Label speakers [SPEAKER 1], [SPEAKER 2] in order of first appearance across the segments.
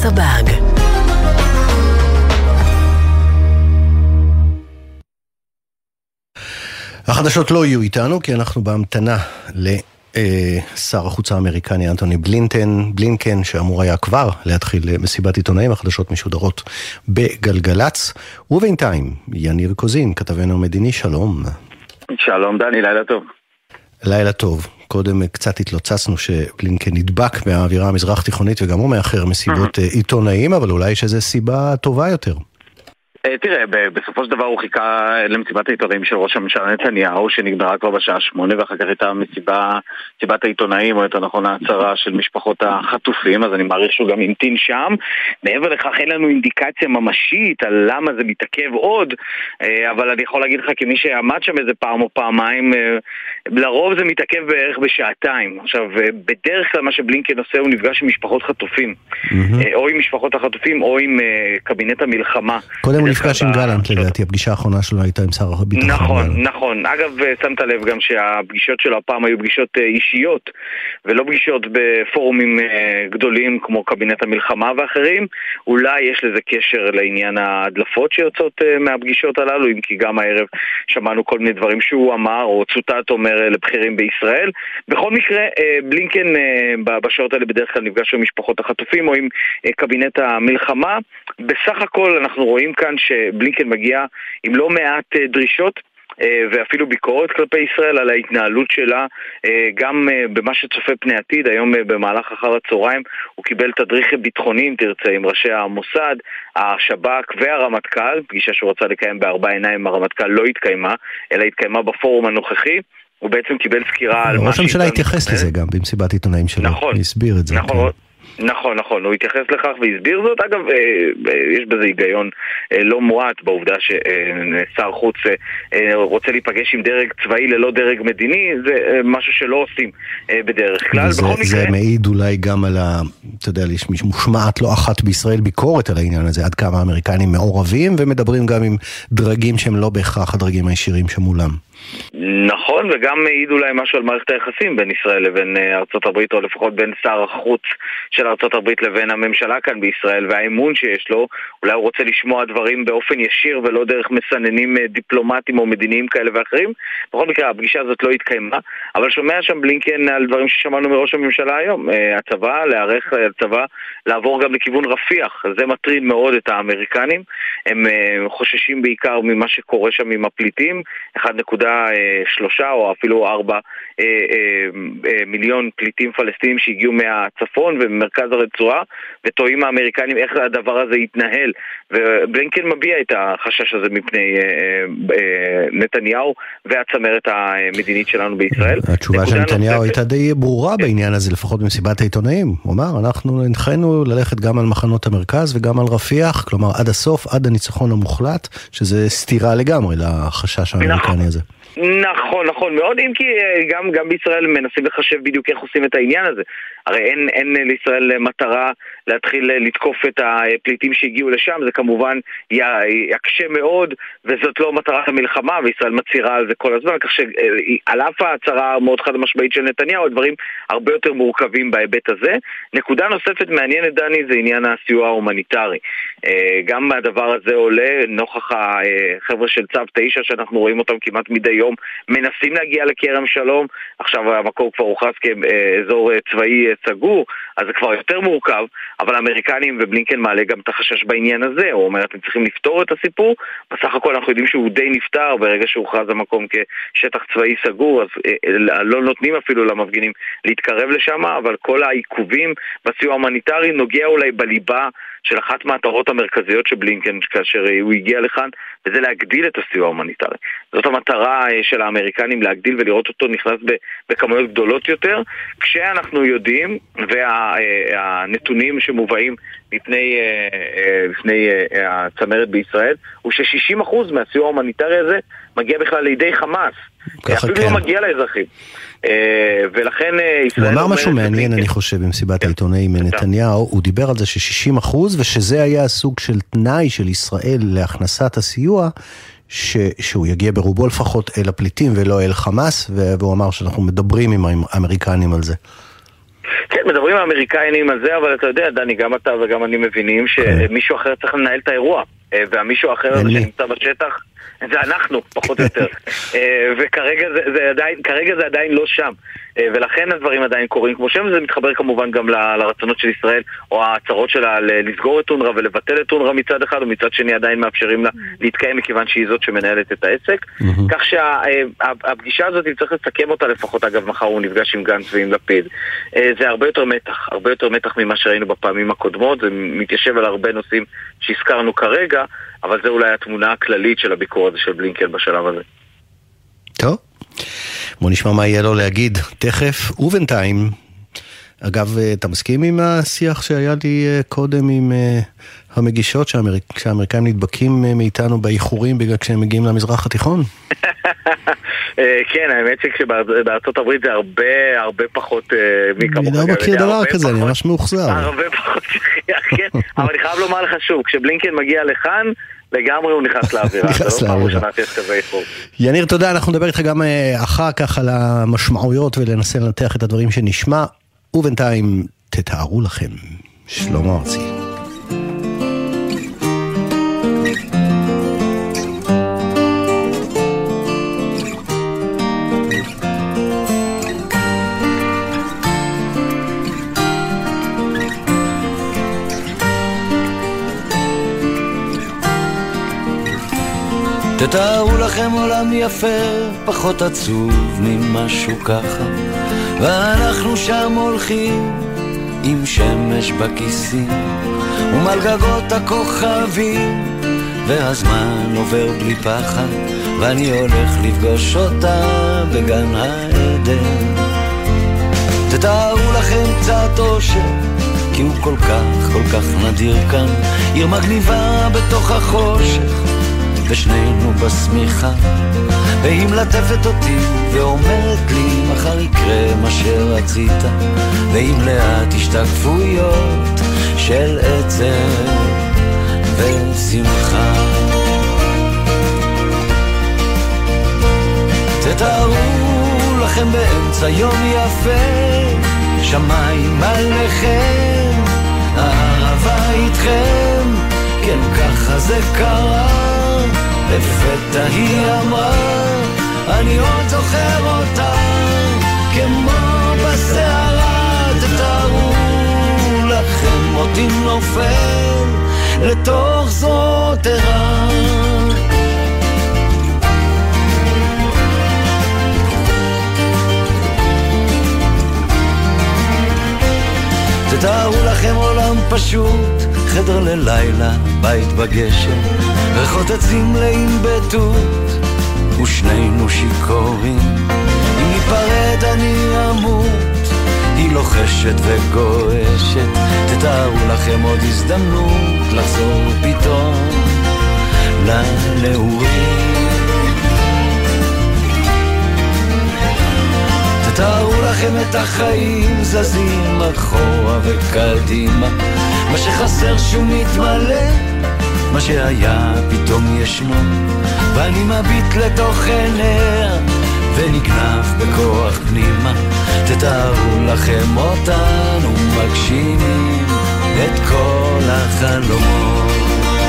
[SPEAKER 1] סבג.
[SPEAKER 2] החדשות לא יהיו איתנו, כי אנחנו בהמתנה לשר החוץ האמריקני אנטוני בלינקן, שאמור היה כבר להתחיל מסיבת עיתונאים. החדשות משודרות בגלגלץ, ובינתיים יניר קוזין, כתבנו המדיני, שלום.
[SPEAKER 3] שלום דני, לילה טוב.
[SPEAKER 2] לילה טוב. קודם קצת התלוצצנו שבלינקן נדבק מהאווירה המזרח תיכונית, וגם הוא מאחר מסיבות עיתונאים, אבל אולי יש איזו סיבה טובה יותר.
[SPEAKER 3] תראה, בסופו של דבר הוא חיכה למסיבת העיתונאים של ראש הממשלה נתניהו, שנגמרה כבר בשעה 8, ואחר כך הייתה מסיבת העיתונאים, או יותר נכון ההצהרה של משפחות החטופים, אז אני מעריך שהוא גם המתין שם. מעבר לכך אין לנו אינדיקציה ממשית על למה זה מתעכב עוד, אבל אני יכול להגיד לך כמי שעמד שם איזה פעם או פעמיים, לרוב זה מתעכב בערך בשעתיים. עכשיו, בדרך כלל מה שבלינקן עושה הוא נפגש עם משפחות חטופים, או עם משפחות החטופים או עם קבינט המלחמה.
[SPEAKER 2] קודם הוא נפגש עם גלנט, לדעתי, הפגישה האחרונה שלו הייתה עם שר הביטחון.
[SPEAKER 3] נכון. אגב, שמת לב גם שהפגישות שלו הפעם היו פגישות אישיות, ולא פגישות בפורומים גדולים כמו קבינט המלחמה ואחרים. אולי יש לזה קשר לעניין ההדלפות שיוצאות מהפגישות הללו, אם כי גם הערב שמענו כל מיני דברים שהוא אמר, או צוטט אומר לבחירים בישראל. בכל מקרה, בלינקן בשעות האלה בדרך כלל נפגש עם משפחות החטופים או עם קבינט המלחמה. בסך הכל אנחנו רואים כאן שבלינקן מגיע עם לא מעט דרישות ואפילו ביקורת כלפי ישראל על ההתנהלות שלה, גם במה שצופה פני עתיד. היום במהלך אחר הצהריים הוא קיבל תדריך ביטחוני, אם תרצה, עם ראשי המוסד, השב"כ והרמטכ"ל. פגישה שהוא רצה לקיים בארבע עיניים, הרמטכ"ל לא התקיימה, אלא התקיימה בפורום הנוכחי. הוא בעצם קיבל סקירה על
[SPEAKER 2] ראש הממשלה התייחס לזה גם במסיבת עיתונאים שלו, הסביר את זה.
[SPEAKER 3] נכון, הוא התייחס לכך והסביר זאת. אגב, יש בזה היגיון לא מועט בעובדה ששר חוץ רוצה להיפגש עם דרג צבאי ללא דרג מדיני, זה משהו שלא עושים בדרך כלל.
[SPEAKER 2] זה מעיד אולי גם על אתה יודע, מושמעת לא אחת בישראל ביקורת על העניין הזה, עד כמה האמריקנים מעורבים, ומדברים גם עם דרגים שהם לא בהכרח הדרגים הישירים שמולם.
[SPEAKER 3] נכון, וגם מעיד אולי משהו על מערכת היחסים בין ישראל לבין ארצות הברית, או לפחות בין שר החוץ של ארצות הברית לבין הממשלה כאן בישראל, והאמון שיש לו. אולי הוא רוצה לשמוע דברים באופן ישיר ולא דרך מסננים דיפלומטיים או מדיניים כאלה ואחרים. בכל מקרה, הפגישה הזאת לא התקיימה, אבל שומע שם בלינקן על דברים ששמענו מראש הממשלה היום. הצבא, להערך הצבא, לעבור גם לכיוון רפיח. זה מטריד מאוד את האמריקנים. הם חוששים בעיקר ממה שקורה שם עם הפליטים. 1.3 או אפילו 4 מיליון פליטים פלסטינים שהגיעו מהצפון וממרכז הרצועה, וטועים האמריקנים איך הדבר הזה יתנהל. ובלינקן מביע את החשש הזה מפני נתניהו והצמרת המדינית שלנו בישראל.
[SPEAKER 2] התשובה של נתניהו הייתה די ברורה בעניין הזה, לפחות במסיבת העיתונאים. הוא אמר, אנחנו הנחינו ללכת גם על מחנות המרכז וגם על רפיח, כלומר עד הסוף, עד הניצחון המוחלט, שזה סתירה לגמרי לחשש האמריקני הזה.
[SPEAKER 3] נכון מאוד, אם כי גם בישראל מנסים לחשב בדיוק איך עושים את העניין הזה. הרי אין לישראל מטרה להתחיל לתקוף את הפליטים שהגיעו לשם, זה כמובן יקשה מאוד, וזאת לא מטרת המלחמה, וישראל מצהירה על זה כל הזמן, כך שעל אף ההצהרה מאוד חד משמעית של נתניהו, הדברים הרבה יותר מורכבים בהיבט הזה. נקודה נוספת מעניינת, דני, זה עניין הסיוע ההומניטרי. גם מהדבר הזה עולה נוכח החבר'ה של צו 9 שאנחנו רואים אותם כמעט מדי יום מנסים להגיע לכרם שלום. עכשיו המקום כבר הוכרז כאזור צבאי סגור, אז זה כבר יותר מורכב, אבל האמריקנים ובלינקן מעלה גם את החשש בעניין הזה. הוא אומר, אתם צריכים לפתור את הסיפור. בסך הכל אנחנו יודעים שהוא די נפטר ברגע שהוכרז המקום כשטח צבאי סגור, אז לא נותנים אפילו למפגינים להתקרב לשם, אבל כל העיכובים בסיוע ההומניטרי נוגע אולי בליבה של אחת מהמטרות המרכזיות של בלינקן כאשר הוא הגיע לכאן, וזה להגדיל את הסיוע ההומניטרי. זאת המטרה של האמריקנים, להגדיל ולראות אותו נכנס בכמויות גדולות יותר, כשאנחנו יודעים, והנתונים שמובאים לפני הצמרת בישראל, הוא ש60% מהסיוע ההומניטרי הזה מגיע בכלל לידי חמאס. אפילו לא מגיע לאזרחים. ולכן
[SPEAKER 2] הוא אמר משהו מעניין, אני חושב, במסיבת העיתונאים נתניהו, הוא דיבר על זה ש60%, ושזה היה הסוג של תנאי של ישראל להכנסת הסיוע, שהוא יגיע ברובו לפחות אל הפליטים ולא אל חמאס, והוא אמר שאנחנו מדברים עם האמריקנים על זה.
[SPEAKER 3] כן, מדברים האמריקאים על זה, אבל אתה יודע, דני, גם אתה וגם אני מבינים שמישהו אחר צריך לנהל את האירוע, והמישהו האחר הזה שנמצא בשטח זה אנחנו, פחות או יותר. וכרגע זה עדיין לא שם. ולכן הדברים עדיין קורים כמו שהם, זה מתחבר כמובן גם לרצונות של ישראל, או ההצהרות שלה לסגור את אונר"א ולבטל את אונר"א מצד אחד, ומצד שני עדיין מאפשרים לה להתקיים מכיוון שהיא זאת שמנהלת את העסק. כך שהפגישה הזאת, אם צריך לסכם אותה לפחות, אגב, מחר הוא נפגש עם גנץ ועם לפיד. זה הרבה יותר מתח ממה שראינו בפעמים הקודמות, זה מתיישב על הרבה נושאים שהזכרנו כרגע, אבל זה אולי התמונה הכללית של הביקור הזה של בלינקן בשלב הזה.
[SPEAKER 2] טוב, בוא נשמע מה יהיה לו להגיד תכף, ובינתיים, אגב, אתה מסכים עם השיח שהיה לי קודם עם המגישות שהאמריקאים נדבקים מאיתנו באיחורים בגלל כשהם מגיעים למזרח התיכון?
[SPEAKER 3] כן, האמת שכשבארצות הברית זה הרבה פחות
[SPEAKER 2] אני לא מכיר דבר כזה, אני ממש מאוחזר.
[SPEAKER 3] הרבה פחות שכיח, כן, אבל אני חייב לומר לך שוב, כשבלינקן מגיע לכאן, לגמרי הוא נכנס לאווירה.
[SPEAKER 2] נכנס לאווירה. יניר, תודה, אנחנו נדבר איתך גם אחר כך על המשמעויות ולנסה לנתח את הדברים שנשמע, ובינתיים תתארו לכם, שלמה ארצי.
[SPEAKER 1] תתארו לכם עולם יפה, פחות עצוב ממשהו ככה, ואנחנו שם הולכים עם שמש בכיסים ומעל גגות הכוכבים, והזמן עובר בלי פחד, ואני הולך לפגוש אותה בגן העדן. תתארו לכם קצת אושר, כי הוא כל כך נדיר כאן, עיר מגניבה בתוך החושך, ושנינו בסמיכה, והיא מלטפת אותי ואומרת לי מחר יקרה מה שרצית, ועם לאט השתקפויות של עצב ושמחה. תתארו לכם באמצע יום יפה, שמיים עליכם, הערבה איתכם, כן ככה זה קרה, לפתע היא אמרה, אני עוד זוכר אותה, כמו בסערה. תתארו לכם אותי נופל לתוך זאת ערה. תתארו לכם עולם פשוט, חדר ללילה, בית בגשם, ריחות עצים מלאים בתות, ושנינו שיכורים. אם ניפרד אני אמות, היא לוחשת וגועשת. תתארו לכם עוד הזדמנות לחזור פתאום לנעורים. תתארו לכם את החיים זזים אחורה וקדימה, מה שחסר שהוא מתמלא, מה שהיה פתאום ישנו, ואני מביט לתוך עיניה ונגנב בכוח פנימה. תתארו לכם אותנו מגשימים את כל החלומות.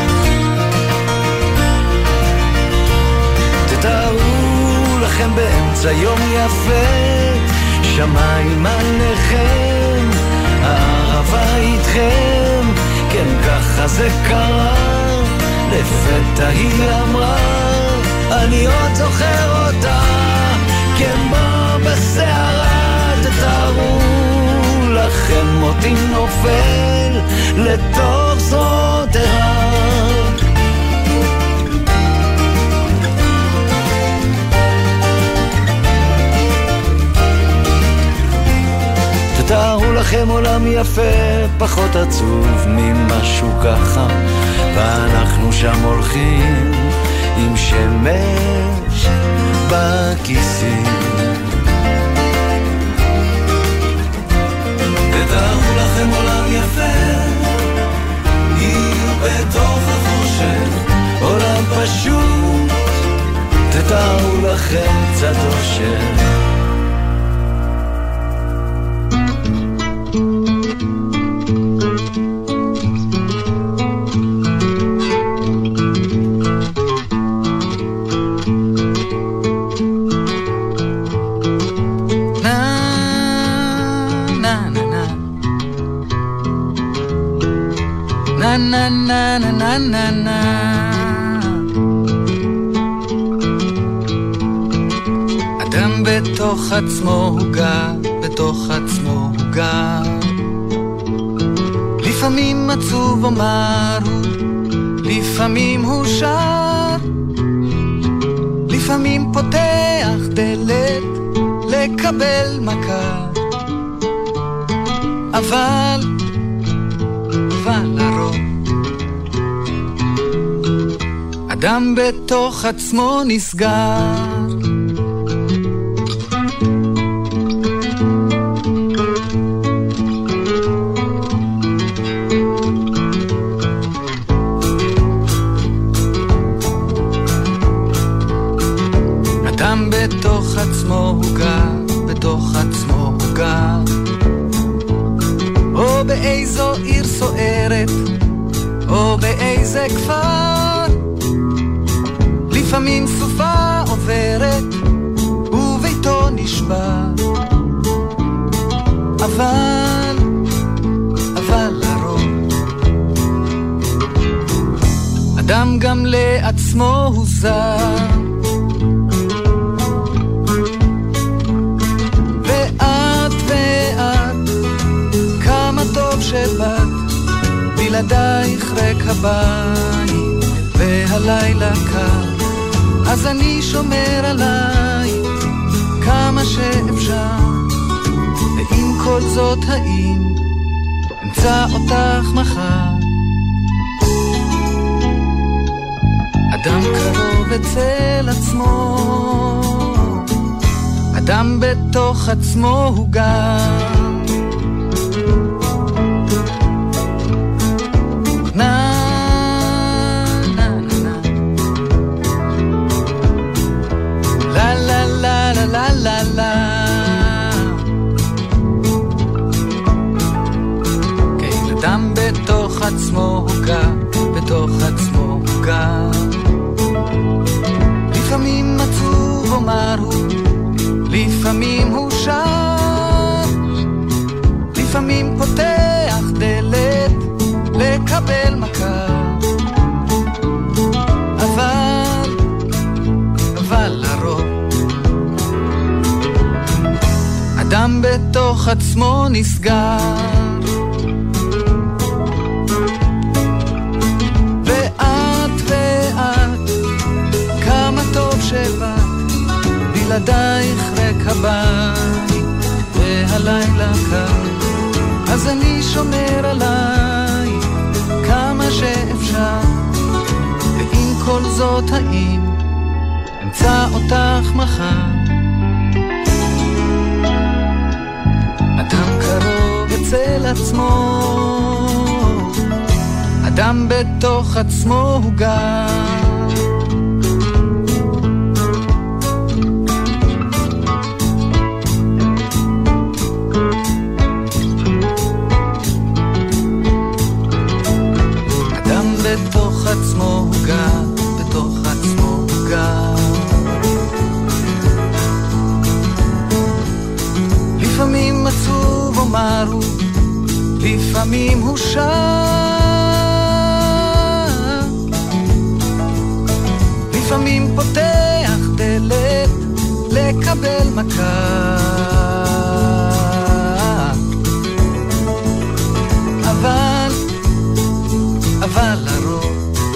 [SPEAKER 1] תתארו לכם באמצע יום יפה, שמיים עליכם, הערבה איתכם, כן ככה זה קרה, לפתע היא אמרה, אני עוד זוכר אותה, כמו בסערה. תתארו לכם אותי נופל לתוך זאת ערה. תתארו לכם עולם יפה, פחות עצוב ממשהו ככה, ואנחנו שם הולכים עם שמש בכיסים. תתארו לכם עולם יפה, עיר בתוך החושך, עולם פשוט, תתארו לכם קצת אושר.
[SPEAKER 4] na na na na na na na. אדם בתוך עצמו הוא גר, בתוך עצמו הוא גר. לפעמים עצוב אומר הוא, לפעמים הוא שר, לפעמים פותח דלת לקבל מכה. אבל לרוב אדם בתוך עצמו נסגר. אדם בתוך עצמו הוא גר, בתוך עצמו הוא גר. או באיזו עיר סוערת, או באיזה כפר. לפעמים סופה עוברת, וביתו נשבר. אבל לרוב אדם גם לעצמו הוא זר. שבאת בלעדייך ריק הבית והלילה קר, אז אני שומר עלייך כמה שאפשר. ועם כל זאת האם אמצא אותך מחר. אדם קרוב אצל עצמו, אדם בתוך עצמו הוא גר. כן, אדם בתוך עצמו הוא גר, בתוך עצמו הוא גר. לפעמים עצוב אומר הוא, לפעמים הוא שר, לפעמים פותח דלת לקבל מכה. אבל לרוב אדם בתוך עצמו נסגר. ואת כמה טוב שבאת בלעדייך ריק הבית והלילה קר, אז אני שומר עלייך כמה שאפשר. ועם כל זאת האם אמצא אותך מחר. אדם קרוב אצל עצמו, אדם בתוך עצמו הוא גר. אדם בתוך עצמו הוא גר, בתוך עצמו הוא גר. לפעמים עצוב אומר הוא, לפעמים הוא שר, לפעמים פותח דלת לקבל מכה. אבל לרוב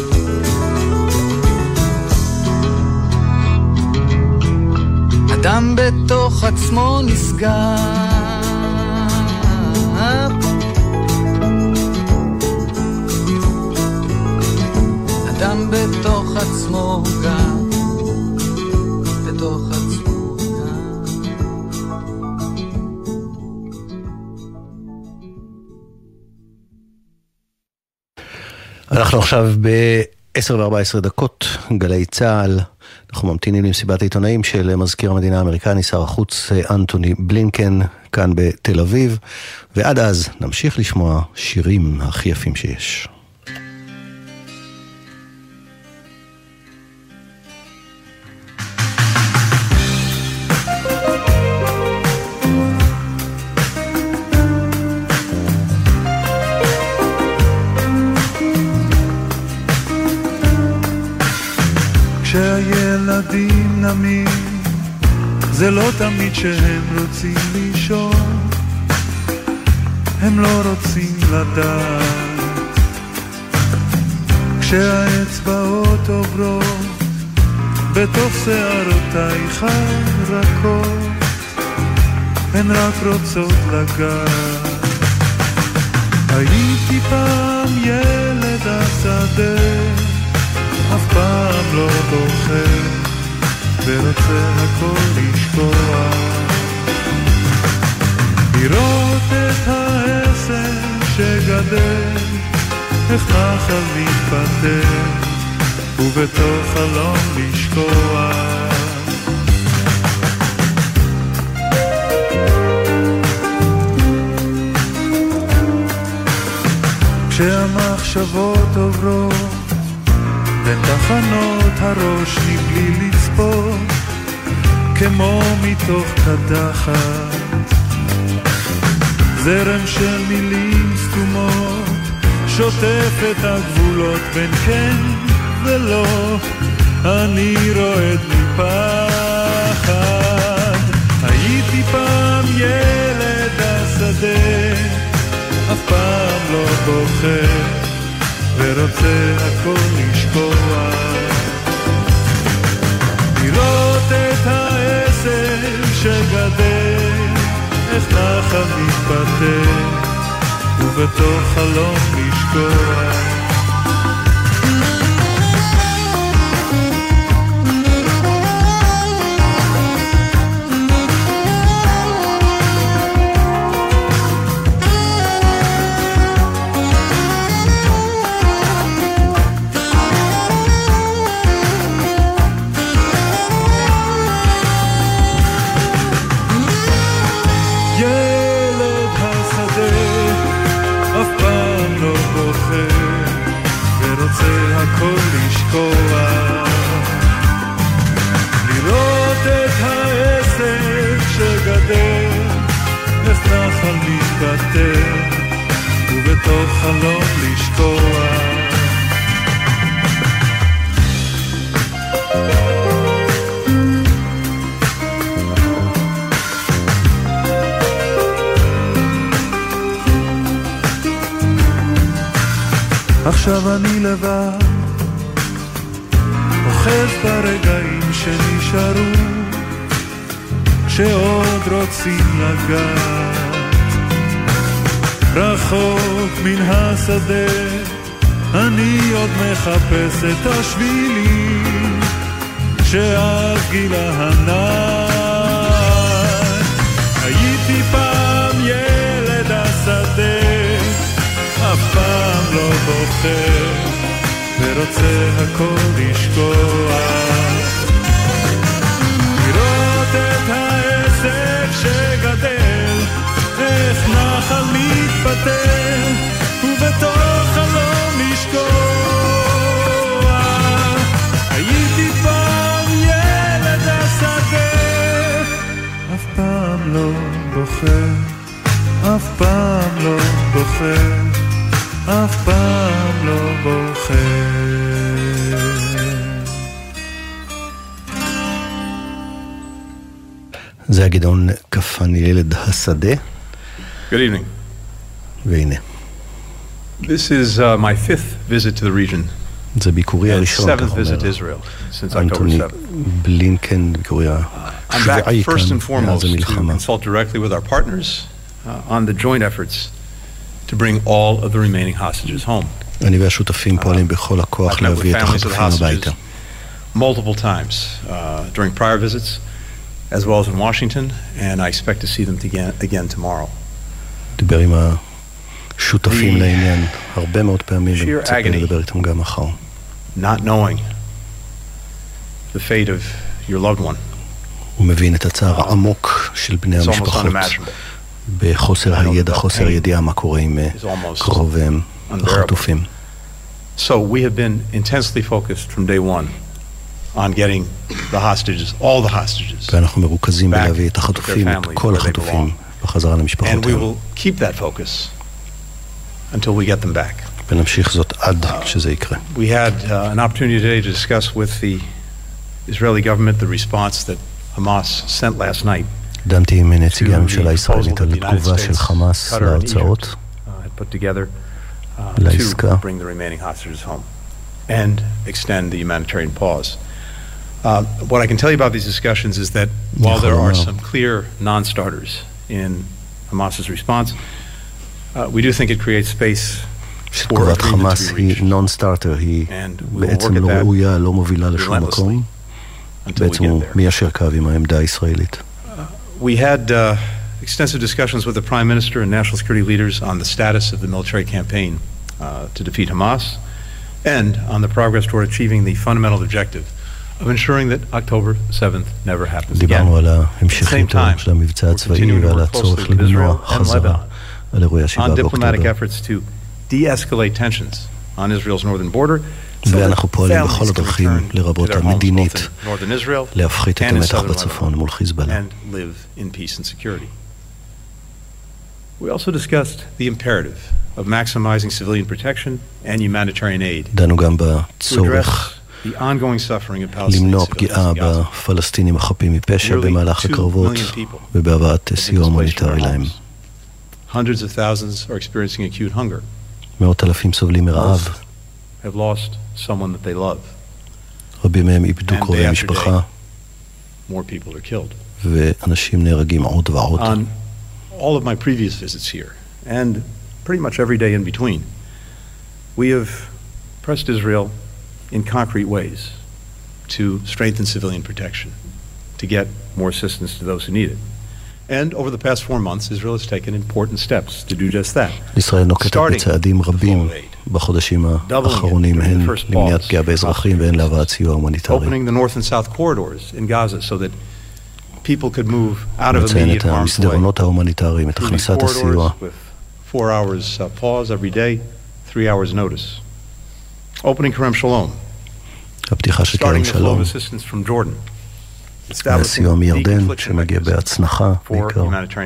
[SPEAKER 4] אדם בתוך עצמו נסגר. אדם בתוך עצמו גם, בתוך עצמו גם.
[SPEAKER 2] אנחנו עכשיו ב-10:14, גלי צהל. אנחנו ממתינים למסיבת העיתונאים של מזכיר המדינה האמריקני, שר החוץ אנטוני בלינקן, כאן בתל אביב, ועד אז נמשיך לשמוע שירים הכי יפים שיש.
[SPEAKER 5] ילדים נמים, זה לא תמיד שהם רוצים לישון, הם לא רוצים לדעת. כשהאצבעות עוברות בתוך שערותייך הרכות, הן רק רוצות לגעת. הייתי פעם ילד השדה, אף פעם לא בוחר, ורוצה הכל לשקוע. לראות את העשר שגדל, איך נחל מתפתח, ובתוך חלום לשקוע. כשהמחשבות עוברות בין תחנות הראש מבלי לצפות, כמו מתוך קדחת, זרם של מילים סתומות שוטף את הגבולות בין כן ולא, אני רועד מפחד. הייתי פעם ילד השדה, אף פעם לא בוחר, ורוצה הכל לשקוע. לראות את העשר שגדל, איך נחל מתפתח, ובתוך חלום לשקוע. הכל לשקוע. לראות את העסק שגדל, איך נחל מתפתח, ובתוך חלום לשקוע. עכשיו אני לבד, אוחז ברגעים שנשארו, שעוד רוצים לגעת. רחוק מן השדה, אני עוד מחפש את השבילים שעל גיל הענן. הייתי פעם ילד השדה, אף פעם לא בוחר, ורוצה הכל לשקוע. לראות את העסק שגדל, איך נחל מתפתח, ובתוך חלום לשקוע. הייתי פעם ילד השדה, אף פעם לא בוחר, אף פעם לא בוחר, אף פעם לא בוחר.
[SPEAKER 2] זה הגדעון כפני ילד השדה.
[SPEAKER 6] Good evening.
[SPEAKER 2] והנה.
[SPEAKER 6] This is my fifth visit to the region.
[SPEAKER 2] זה ביקורי הראשון,
[SPEAKER 6] seventh visit to Israel since October 7th.
[SPEAKER 2] בלינקן, ביקורי
[SPEAKER 6] I'm back
[SPEAKER 2] השבועי
[SPEAKER 6] first
[SPEAKER 2] כאן
[SPEAKER 6] and foremost
[SPEAKER 2] מאז
[SPEAKER 6] to
[SPEAKER 2] המלחמה.
[SPEAKER 6] consult directly with our partners on the joint efforts to bring all of the remaining hostages home.
[SPEAKER 2] אני והשותפים פועלים בכל הכוח להביא את החטופים הביתה.
[SPEAKER 6] Multiple times during prior visits, as well as in Washington, and I expect to see them again tomorrow.
[SPEAKER 2] דיבר עם השותפים לעניין הרבה מאוד פעמים, ומצפה לדבר איתם גם מחר.
[SPEAKER 6] Not knowing the fate of your loved one.
[SPEAKER 2] הוא מבין את הצער העמוק של בני המשפחות, בחוסר הידע, חוסר ידיעה מה קורה עם קרוביהם החטופים.
[SPEAKER 6] So we have been intensely focused from day one on getting the hostages, all the hostages.
[SPEAKER 2] ואנחנו מרוכזים בלהביא את החטופים, את כל החטופים, בחזרה למשפחותיהם.
[SPEAKER 6] And we will keep that focus until we get them back.
[SPEAKER 2] ונמשיך זאת עד שזה יקרה.
[SPEAKER 6] We had an opportunity today to discuss with the Israeli government the response that Hamas sent last night
[SPEAKER 2] דנתי עם נציגי הממשלה הישראלית על תגובה של חמאס להרצאות, לעסקה.
[SPEAKER 6] to bring the remaining hostages home and extend the humanitarian pause. What I can tell you about these discussions is that while there are some clear non-starters in Hamas's response, we do think it creates space for
[SPEAKER 2] שתגובת חמאס היא נון-סטארטר, היא בעצם לא ראויה, לא מובילה לשום מקום, בעצם הוא מיישר קו עם העמדה הישראלית.
[SPEAKER 6] We had extensive discussions with the Prime Minister and national security leaders on the status of the military campaign to defeat Hamas and on the progress toward achieving the fundamental objective of ensuring that October 7th never happens again.
[SPEAKER 2] דיברנו על ההמשכיות של המבצע הצבאי ועל הצורך למנוע חזרה על אירועי ה-7 באוקטובר.
[SPEAKER 6] On diplomatic efforts to de-escalate tensions on Israel's northern border.
[SPEAKER 2] ואנחנו פועלים בכל הדרכים, לרבות המדינית, להפחית את המתח בצפון מול חיזבאללה.
[SPEAKER 6] We also discussed the imperative of maximizing civilian protection and humanitarian aid.
[SPEAKER 2] דנו גם בצורך למנוע פגיעה בפלסטינים החפים מפשע במהלך הקרבות ובהבאת סיוע הומניטרי להם.
[SPEAKER 6] Hundreds of thousands are experiencing acute hunger.
[SPEAKER 2] מאות אלפים סובלים מרעב.
[SPEAKER 6] Have lost someone that they love.
[SPEAKER 2] רבים מהם איבדו קרובי משפחה.
[SPEAKER 6] More people are killed.
[SPEAKER 2] ואנשים נהרגים עוד ועוד.
[SPEAKER 6] On all of my previous visits here, and pretty much every day in between, we have pressed Israel in concrete ways to strengthen civilian protection, to get more assistance to those who need it. And over the past 4 months, Israel has taken important steps to do just that.
[SPEAKER 2] ישראל נוקטת בצעדים רבים בחודשים האחרונים, הן למניעת פגיעה באזרחים והן להבאת סיוע הומניטרי.
[SPEAKER 6] Opening the north and south corridors in Gaza so that people could move out of
[SPEAKER 2] מציין
[SPEAKER 6] immediate
[SPEAKER 2] את
[SPEAKER 6] harm's way.
[SPEAKER 2] המסדרונות ההומניטריים, את הכנסת הסיוע.
[SPEAKER 6] 4 hours pause every day, 3 hours notice. Opening Kerem Shalom.
[SPEAKER 2] הפתיחה של כרם שלום. והסיוע מירדן שמגיע בהצנחה בעיקר.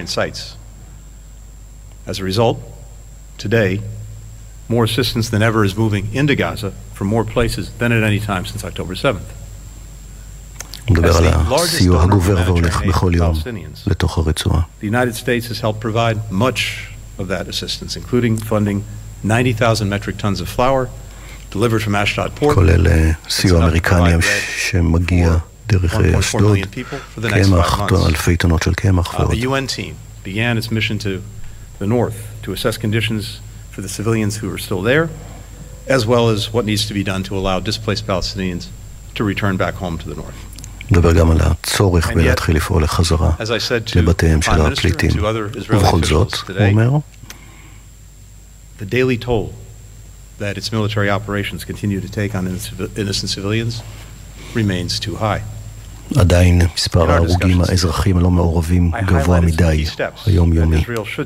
[SPEAKER 6] As a result, today, more assistance than ever is moving into Gaza from more places than at any time since October 7th.
[SPEAKER 2] הוא מדבר על הסיוע הגובר והולך בכל יום לתוך הרצועה.
[SPEAKER 6] The United States has helped provide much of that assistance, including funding 90,000 metric tons of flour delivered from Ashdod port.
[SPEAKER 2] כולל סיוע אמריקני שמגיע דרך אשדוד, קמח, אלפי טונות של קמח ועוד.
[SPEAKER 6] The UN team began its mission to the north to assess conditions for the civilians who are still there, as well as what needs to be done to allow displaced Palestinians to return back home to the north.
[SPEAKER 2] מדבר גם על הצורך בלהתחיל לפעול לחזרה לבתיהם של הפליטים. ובכל זאת, הוא אומר,
[SPEAKER 6] the daily toll that its military operations continue to take on innocent civilians remains too high.
[SPEAKER 2] עדיין מספר ההרוגים האזרחים הלא מעורבים גבוה מדי, היומיומי.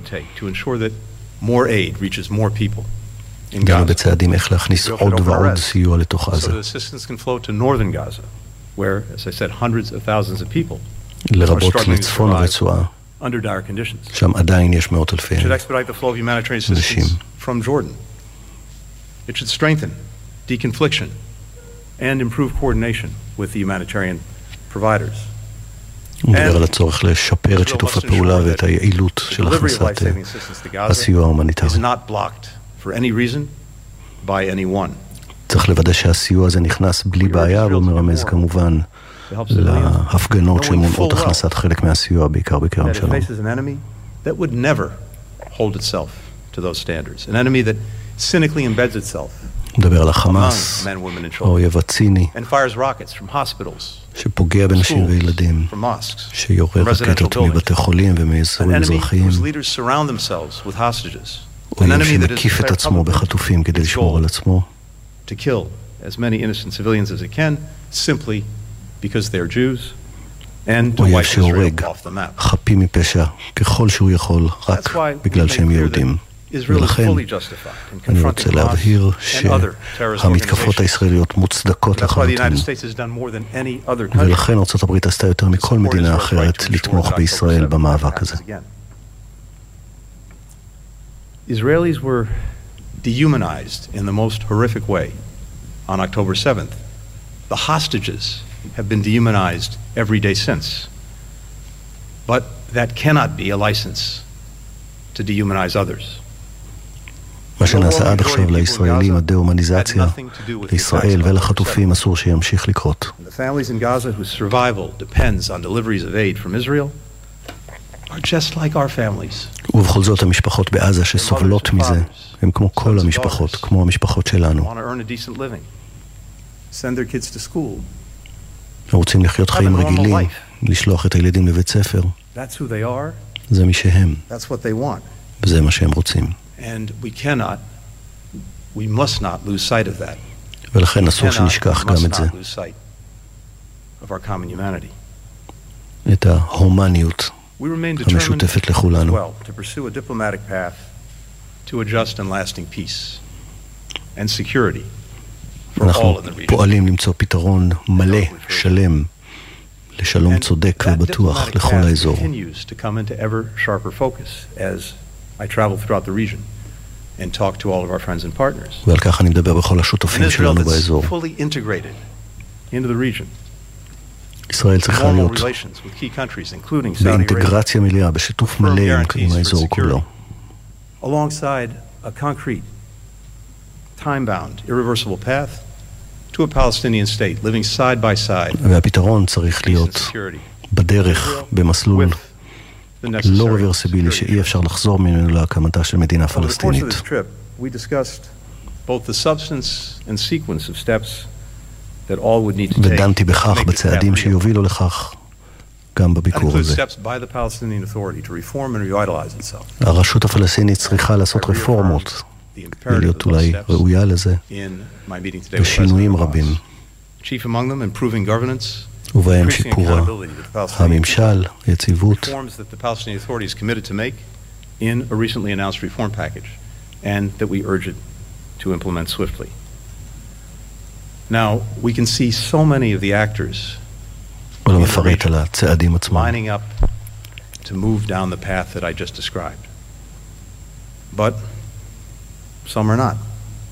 [SPEAKER 2] גם בצעדים איך להכניס עוד ועוד סיוע לתוך עזה. לרבות לצפון הרצועה, שם עדיין יש מאות אלפי אנשים.
[SPEAKER 6] It should strengthen deconfliction and improve coordination with the humanitarian providers.
[SPEAKER 2] הוא מדבר על הצורך לשפר את שיתוף הפעולה ואת היעילות של הכנסת הסיוע ההומניטרי. צריך לוודא שהסיוע הזה נכנס בלי בעיה, והוא מרמז כמובן להפגנות שמונעות הכנסת חלק מהסיוע, בעיקר בכרם שלום.
[SPEAKER 6] That would never hold itself to those standards. An enemy that cynically embeds itself
[SPEAKER 2] מדבר על החמאס, האויב הציני, שפוגע בנשים וילדים, שיורה רקטות מבתי חולים ומאזורים אזרחיים, אויב שמקיף את עצמו בחטופים כדי לשמור על עצמו, אויב שהורג חפים מפשע ככל שהוא יכול רק בגלל שהם יהודים. ולכן אני רוצה להבהיר שהמתקפות הישראליות מוצדקות לחלוטין, ולכן ארצות הברית עשתה יותר מכל מדינה אחרת לתמוך בישראל במאבק הזה.
[SPEAKER 6] Israelis were dehumanized in the most horrific way on October 7th. The hostages have been dehumanized every day since. But that cannot be a license to dehumanize others.
[SPEAKER 2] מה שנעשה עד עכשיו לישראלים, הדה-הומניזציה, לישראל ולחטופים אסור שימשיך לקרות.
[SPEAKER 6] The families in Gaza whose survival depends on deliveries of aid from Israel are just like our families.
[SPEAKER 2] ובכל זאת המשפחות בעזה שסובלות מזה, הם כמו כל המשפחות, כמו המשפחות שלנו.
[SPEAKER 6] Want to earn a decent living. Send their kids to school.
[SPEAKER 2] רוצים לחיות חיים רגילים, לשלוח את הילדים לבית ספר.
[SPEAKER 6] That's who they are.
[SPEAKER 2] זה מי שהם.
[SPEAKER 6] That's what they want.
[SPEAKER 2] וזה מה שהם רוצים.
[SPEAKER 6] And we must not lose sight of that.
[SPEAKER 2] ולכן אסור שנשכח גם את זה.
[SPEAKER 6] Of our common humanity.
[SPEAKER 2] את ההומניות המשותפת לכולנו.
[SPEAKER 6] To pursue a diplomatic path to a just and lasting peace and security for all
[SPEAKER 2] אנחנו
[SPEAKER 6] in the region.
[SPEAKER 2] פועלים למצוא פתרון מלא, שלם, לשלום צודק ובטוח לכל האזור.
[SPEAKER 6] Continues to come into ever sharper focus as I travel throughout the region and talk to all of our friends and partners.
[SPEAKER 2] ועל כך אני מדבר בכל השותפים שלנו באזור.
[SPEAKER 6] Fully integrated into the region.
[SPEAKER 2] ישראל צריכה להיות
[SPEAKER 6] relations with key countries, including Saudi Arabia.
[SPEAKER 2] באינטגרציה מלאה, בשיתוף מלא עם האזור כולו.
[SPEAKER 6] Alongside a concrete, time-bound, irreversible path to a Palestinian state living side by side.
[SPEAKER 2] והפתרון צריך להיות בדרך, במסלול לא רוורסיבילי שאי אפשר לחזור ממנו להקמתה של מדינה פלסטינית.
[SPEAKER 6] We discussed both the substance and sequence of steps that all would need to take.
[SPEAKER 2] ודנתי בכך בצעדים שיובילו לכך גם בביקור הזה. הרשות הפלסטינית צריכה לעשות רפורמות ולהיות אולי ראויה לזה ושינויים רבים. ובהם שיפור הממשל, יציבות.
[SPEAKER 6] in a recently announced reform package and that we urge it to implement swiftly. Now, we can see so many of the actors lining up to move down the path that I just described. But some are not.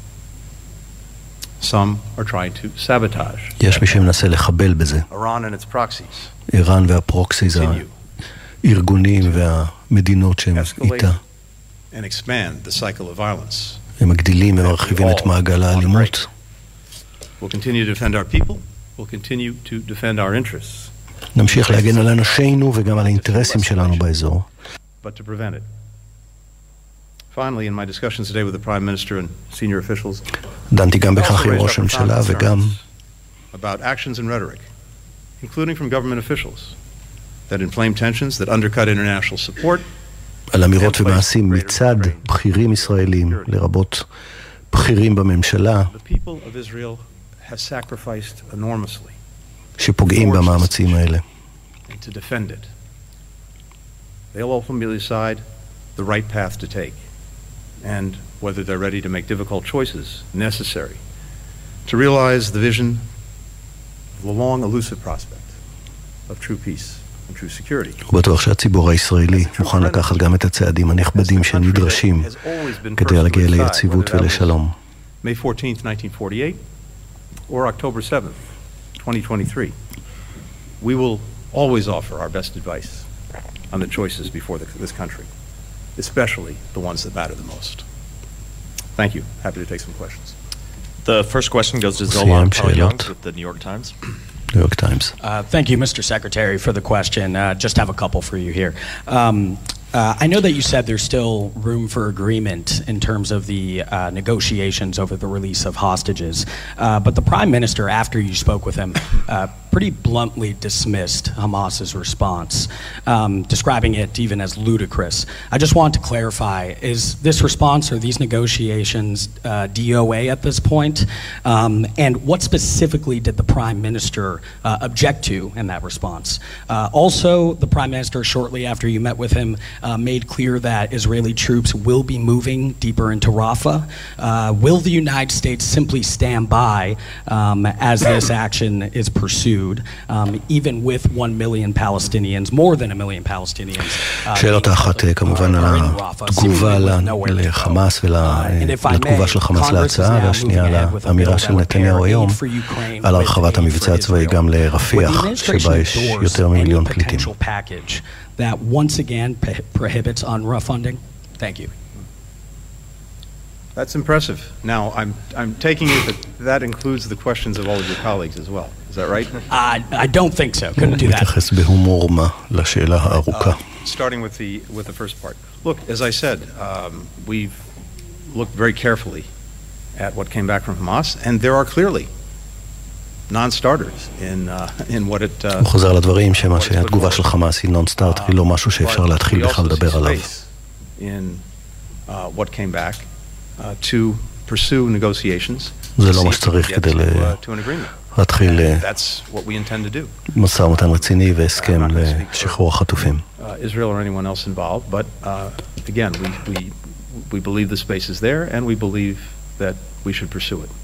[SPEAKER 6] Some are trying to sabotage.
[SPEAKER 2] יש מי שמנסה לחבל בזה.
[SPEAKER 6] Iran and its proxies.
[SPEAKER 2] איראן והפרוקסיז, הארגונים והמדינות שהם איתה.
[SPEAKER 6] And expand the cycle of violence.
[SPEAKER 2] הם מגדילים ומרחיבים את מעגל האלימות.
[SPEAKER 6] We'll continue to defend our people. We'll continue to defend our interests.
[SPEAKER 2] נמשיך להגן על אנשינו וגם על האינטרסים שלנו באזור.
[SPEAKER 6] But to prevent it. Finally, in my discussions today with the Prime Minister and senior officials,
[SPEAKER 2] דנתי גם בכך עם ראש הממשלה וגם
[SPEAKER 6] about actions and rhetoric, including from government officials, that inflame tensions, that undercut international support.
[SPEAKER 2] על אמירות ומעשים מצד בכירים ישראלים, לרבות בכירים בממשלה, שפוגעים במאמצים האלה.
[SPEAKER 6] To defend it. They'll ultimately decide the right path to take, and whether they're ready to make difficult choices necessary to realize the vision of the long elusive prospect of true peace and true security.
[SPEAKER 2] הוא בטוח שהציבור הישראלי מוכן לקחת גם את הצעדים הנכבדים שנדרשים כדי להגיע ליציבות ולשלום.
[SPEAKER 6] May 14th, 1948 or October 7th, 2023. We will always offer our best advice on the choices before this country, especially the ones that matter the most. Thank you. Happy to take some questions.
[SPEAKER 7] The first question goes to Zolan Paul-Youngs with the New York Times.
[SPEAKER 2] New York Times.
[SPEAKER 8] Thank you, Mr. Secretary, for the question. Just have a couple for you here. I know that you said there's still room for agreement in terms of the negotiations over the release of hostages, but the Prime Minister, after you spoke with him, pretty bluntly dismissed Hamas's response, describing it even as ludicrous. I just want to clarify, is this response or these negotiations DOA at this point? And what specifically did the Prime Minister object to in that response? Also, the Prime Minister, shortly after you met with him, made clear that Israeli troops will be moving deeper into Rafah. Will the United States simply stand by as this action is pursued? food, even with 1 million Palestinians, more than 1 million Palestinians.
[SPEAKER 2] שאלות אחת כמובן על התגובה לחמאס ולתגובה של חמאס להצעה, והשנייה על האמירה של נתניהו היום על הרחבת המבצע הצבאי גם לרפיח, שבה יש יותר ממיליון פליטים.
[SPEAKER 8] That once again prohibits UNRWA funding? Thank you.
[SPEAKER 6] That's impressive. Now, I'm taking it that includes the questions of all of your colleagues as well. Is that right?
[SPEAKER 8] I don't think so. Couldn't do that.
[SPEAKER 2] מתייחס בהומור מה לשאלה הארוכה.
[SPEAKER 6] Starting with the first part. Look, as I said, we've looked very carefully at what came back from Hamas, and there are clearly non-starters in what it...
[SPEAKER 2] הוא חוזר לדברים שמה שהתגובה של חמאס היא non-starter, היא לא משהו שאפשר להתחיל בכלל לדבר עליו.
[SPEAKER 6] In what came back to pursue negotiations.
[SPEAKER 2] זה לא מה שצריך כדי להתחיל משא ומתן רציני והסכם לשחרור החטופים.
[SPEAKER 6] Israel or anyone else involved, but again, we believe the space is there and we believe that we should pursue it.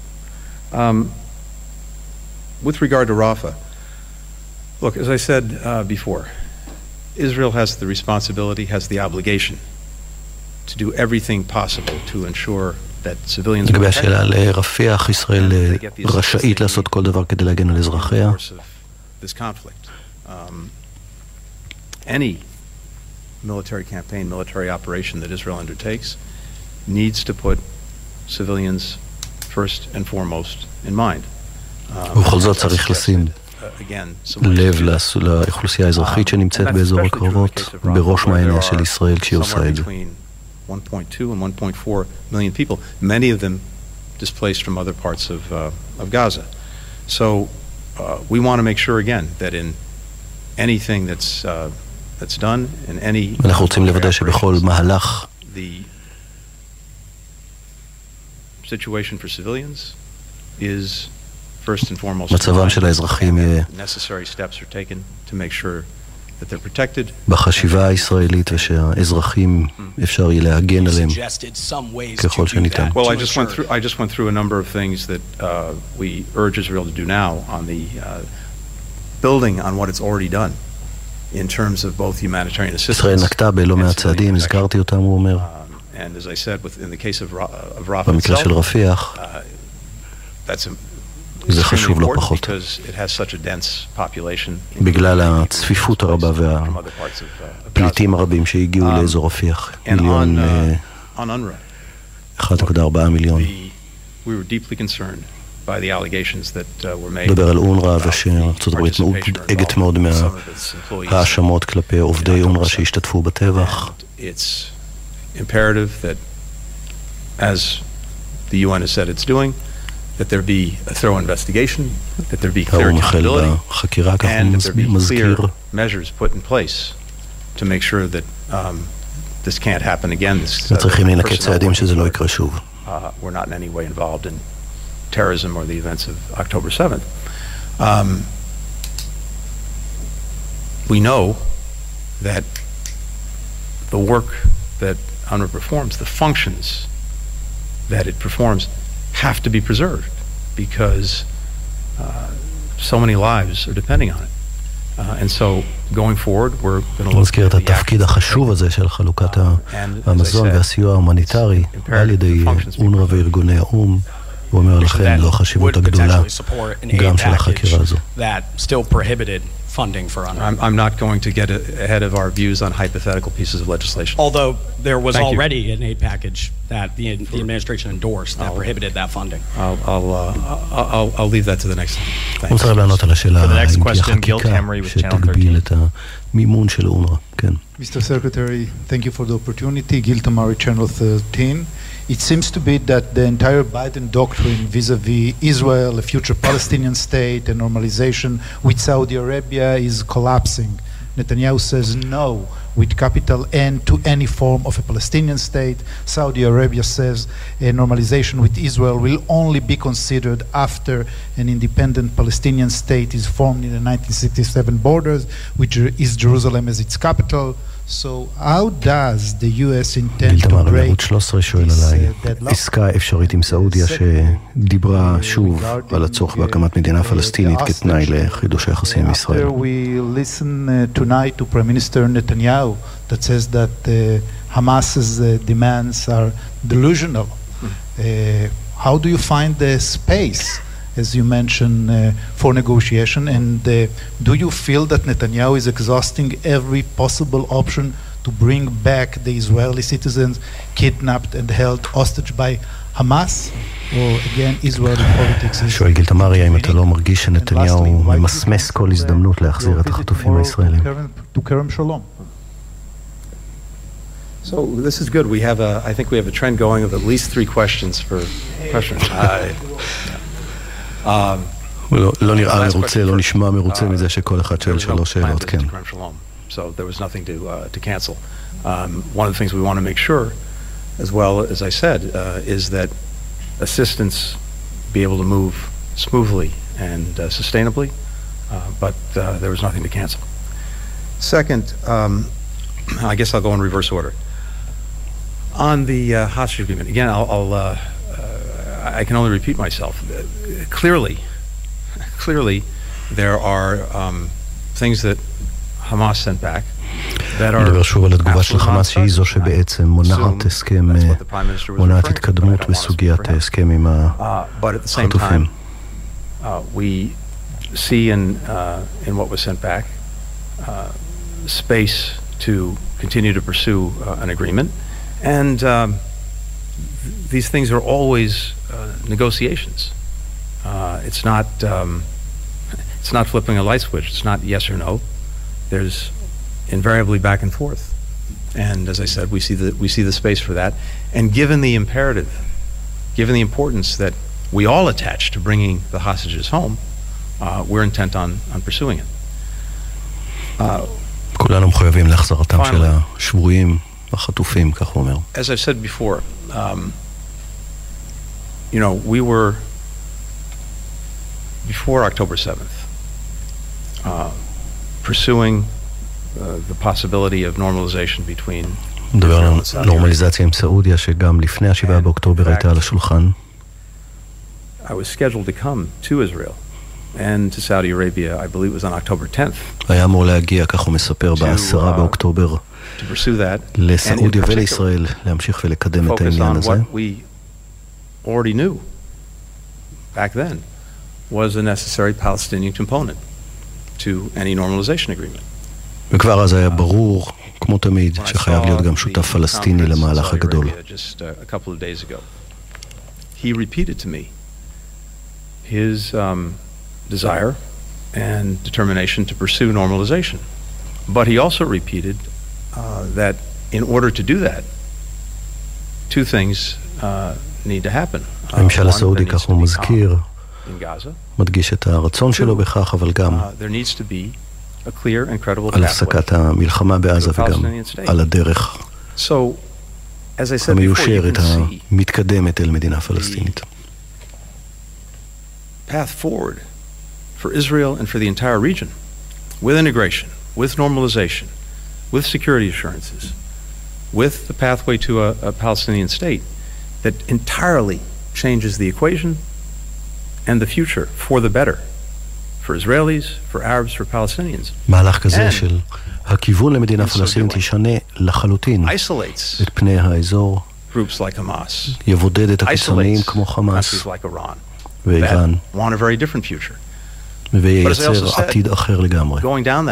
[SPEAKER 6] With regard to Rafah, look, as I said before, Israel has the responsibility, has the obligation to do everything possible to ensure that civilians...
[SPEAKER 2] לגבי השאלה לרפיח, ישראל רשאית לעשות כל דבר כדי להגן על אזרחיה.
[SPEAKER 6] This conflict. Any military campaign, military operation that Israel undertakes needs to put civilians first and foremost in mind.
[SPEAKER 2] ובכל זאת צריך לשים לב לאוכלוסייה האזרחית שנמצאת באזור הקרבות בראש מעייניה של ישראל כשהיא עושה את זה.
[SPEAKER 6] 1.2 and 1.4 million people, many of them displaced from other parts of Gaza. So we want to make sure again that in anything that's done, in any
[SPEAKER 2] אנחנו רוצים לוודא שבכל מהלך
[SPEAKER 6] the situation for civilians is first and foremost
[SPEAKER 2] מצבם של האזרחים יהיה
[SPEAKER 6] necessary steps are taken to make sure that they're protected.
[SPEAKER 2] בחשיבה הישראלית ושהאזרחים אפשר יהיה להגן עליהם ככל שניתן.
[SPEAKER 6] Well, I just went through a number of things that we urge Israel to do now on the building on what it's already done in terms of both humanitarian assistance.
[SPEAKER 2] ישראל נקטה בלא מעט צעדים, הזכרתי אותם, הוא אומר.
[SPEAKER 6] And as I said, in the case of Rafah
[SPEAKER 2] במקרה של רפיח, זה חשוב לא פחות. בגלל הצפיפות הרבה והפליטים הרבים שהגיעו לאזור רפיח, 1.4 מיליון. דבר על אונר"א ושארצות הברית מודאגת מאוד מההאשמות כלפי עובדי אונר"א שהשתתפו בטבח.
[SPEAKER 6] It's imperative that, as the UN has said it's doing, that there be a thorough investigation, that there be clear accountability, and that there be clear measures put in place to make sure that this can't happen again. We're not in any way involved in terrorism or the events of October 7th. We know that the work that UNRWA performs, the functions that it performs, have to be preserved because so many lives are depending on it. And so going forward, we're going to look
[SPEAKER 2] at the התפקיד החשוב הזה של חלוקת המזון והסיוע ההומניטרי על ידי אונר"א וארגוני האו"ם. הוא אומר לכם לו החשיבות הגדולה גם של החקירה הזו.
[SPEAKER 6] I'm not going to get ahead of our views on hypothetical pieces of legislation.
[SPEAKER 8] Although there was already an aid package that the administration endorsed that prohibited that funding.
[SPEAKER 6] I'll leave that to the next time.
[SPEAKER 2] Thanks. For the next question, Gil Camry with Channel 13.
[SPEAKER 9] Mr. Secretary, thank you for the opportunity. Gil Tamari, Channel 13. It seems to be that the entire Biden doctrine vis-a-vis Israel, a future Palestinian state, and normalization with Saudi Arabia is collapsing. Netanyahu says no with capital N to any form of a Palestinian state. Saudi Arabia says a normalization with Israel will only be considered after an independent Palestinian state is formed in the 1967 borders, which is Jerusalem as its capital. So how does the US intend to
[SPEAKER 2] גילתמר,
[SPEAKER 9] break
[SPEAKER 2] ערוץ 13 שואל עליי, עסקה אפשרית עם סעודיה שדיברה שוב על הצורך בהקמת מדינה פלסטינית כתנאי לחידוש היחסים עם ישראל.
[SPEAKER 9] After we listen tonight to Prime Minister Netanyahu that says that Hamas's demands are delusional, how do you find the space, as you mentioned, for negotiation? And do you feel that Netanyahu is exhausting every possible option to bring back the Israeli citizens kidnapped and held hostage by Hamas? Or again, Israeli politics is...
[SPEAKER 2] שואל גילתמרי, האם אתה לא מרגיש שנתניהו ממסמס כל הזדמנות להחזיר את החטופים הישראלים?
[SPEAKER 9] To Kerem Shalom.
[SPEAKER 6] So this is good. I think we have a trend going of at least 3 questions per question.
[SPEAKER 2] לא נראה מרוצה, לא נשמע מרוצה מזה שכל אחד שואל 3 שאלות, כן.
[SPEAKER 6] So there was nothing to cancel. One of the things we want to make sure, as well as I said, is that assistance be able to move smoothly and sustainably, but there was nothing to cancel. Second, I guess I'll go in reverse order. On the hostage agreement, again, I can only repeat myself. Clearly, there are things that Hamas sent back that are
[SPEAKER 2] מדבר שוב על התגובה של חמאס שהיא זו שבעצם מונעת הסכם, מונעת התקדמות בסוגיית ההסכם עם החטופים.
[SPEAKER 6] We see in what was sent back space to continue to pursue an agreement, and these things are always negotiations. It's not flipping a light switch. It's not yes or no. There's invariably back and forth, and as I said, we see the space for that. And given the imperative, given the importance that we all attach to bringing the hostages home, we're intent on pursuing it.
[SPEAKER 2] כולנו מחויבים להחזרתם של השבויים, החטופים, כך הוא אומר.
[SPEAKER 6] As I've said before, we were before October 7th pursuing the possibility of normalization between
[SPEAKER 2] מדבר על נורמליזציה עם סעודיה שגם לפני ה-7 באוקטובר הייתה על השולחן.
[SPEAKER 6] I was scheduled to come to Israel and to Saudi Arabia, I believe it was on October 10th.
[SPEAKER 2] היה אמור להגיע, כך הוא מספר, ב-10 באוקטובר לסעודיה ולישראל להמשיך ולקדם את העניין הזה.
[SPEAKER 6] What we already knew back then was a necessary Palestinian component to any normalization agreement.
[SPEAKER 2] וכבר אז היה ברור, כמו תמיד, שחייב להיות גם שותף פלסטיני למהלך הגדול.
[SPEAKER 6] Just a couple of days ago, he repeated to me his desire and determination to pursue normalization. But he also repeated that in order to do that, 2 things need to happen.
[SPEAKER 2] הממשל הסעודי, כך הוא מזכיר, מדגיש את הרצון שלו בכך, אבל גם על הפסקת המלחמה בעזה וגם על הדרך המיושרת המתקדמת אל מדינה פלסטינית.
[SPEAKER 6] Path forward for Israel and for the entire region, with integration, with normalization, with security assurances, with the pathway to a Palestinian state that entirely changes the equation and the future for the better, for Israelis, for Arabs, for Palestinians.
[SPEAKER 2] מהלך כזה של הכיוון למדינה פלסטינית ישנה לחלוטין את פני האזור, יבודד את הקיצוניים כמו חמאס ואיראן, וייצר עתיד אחר לגמרי.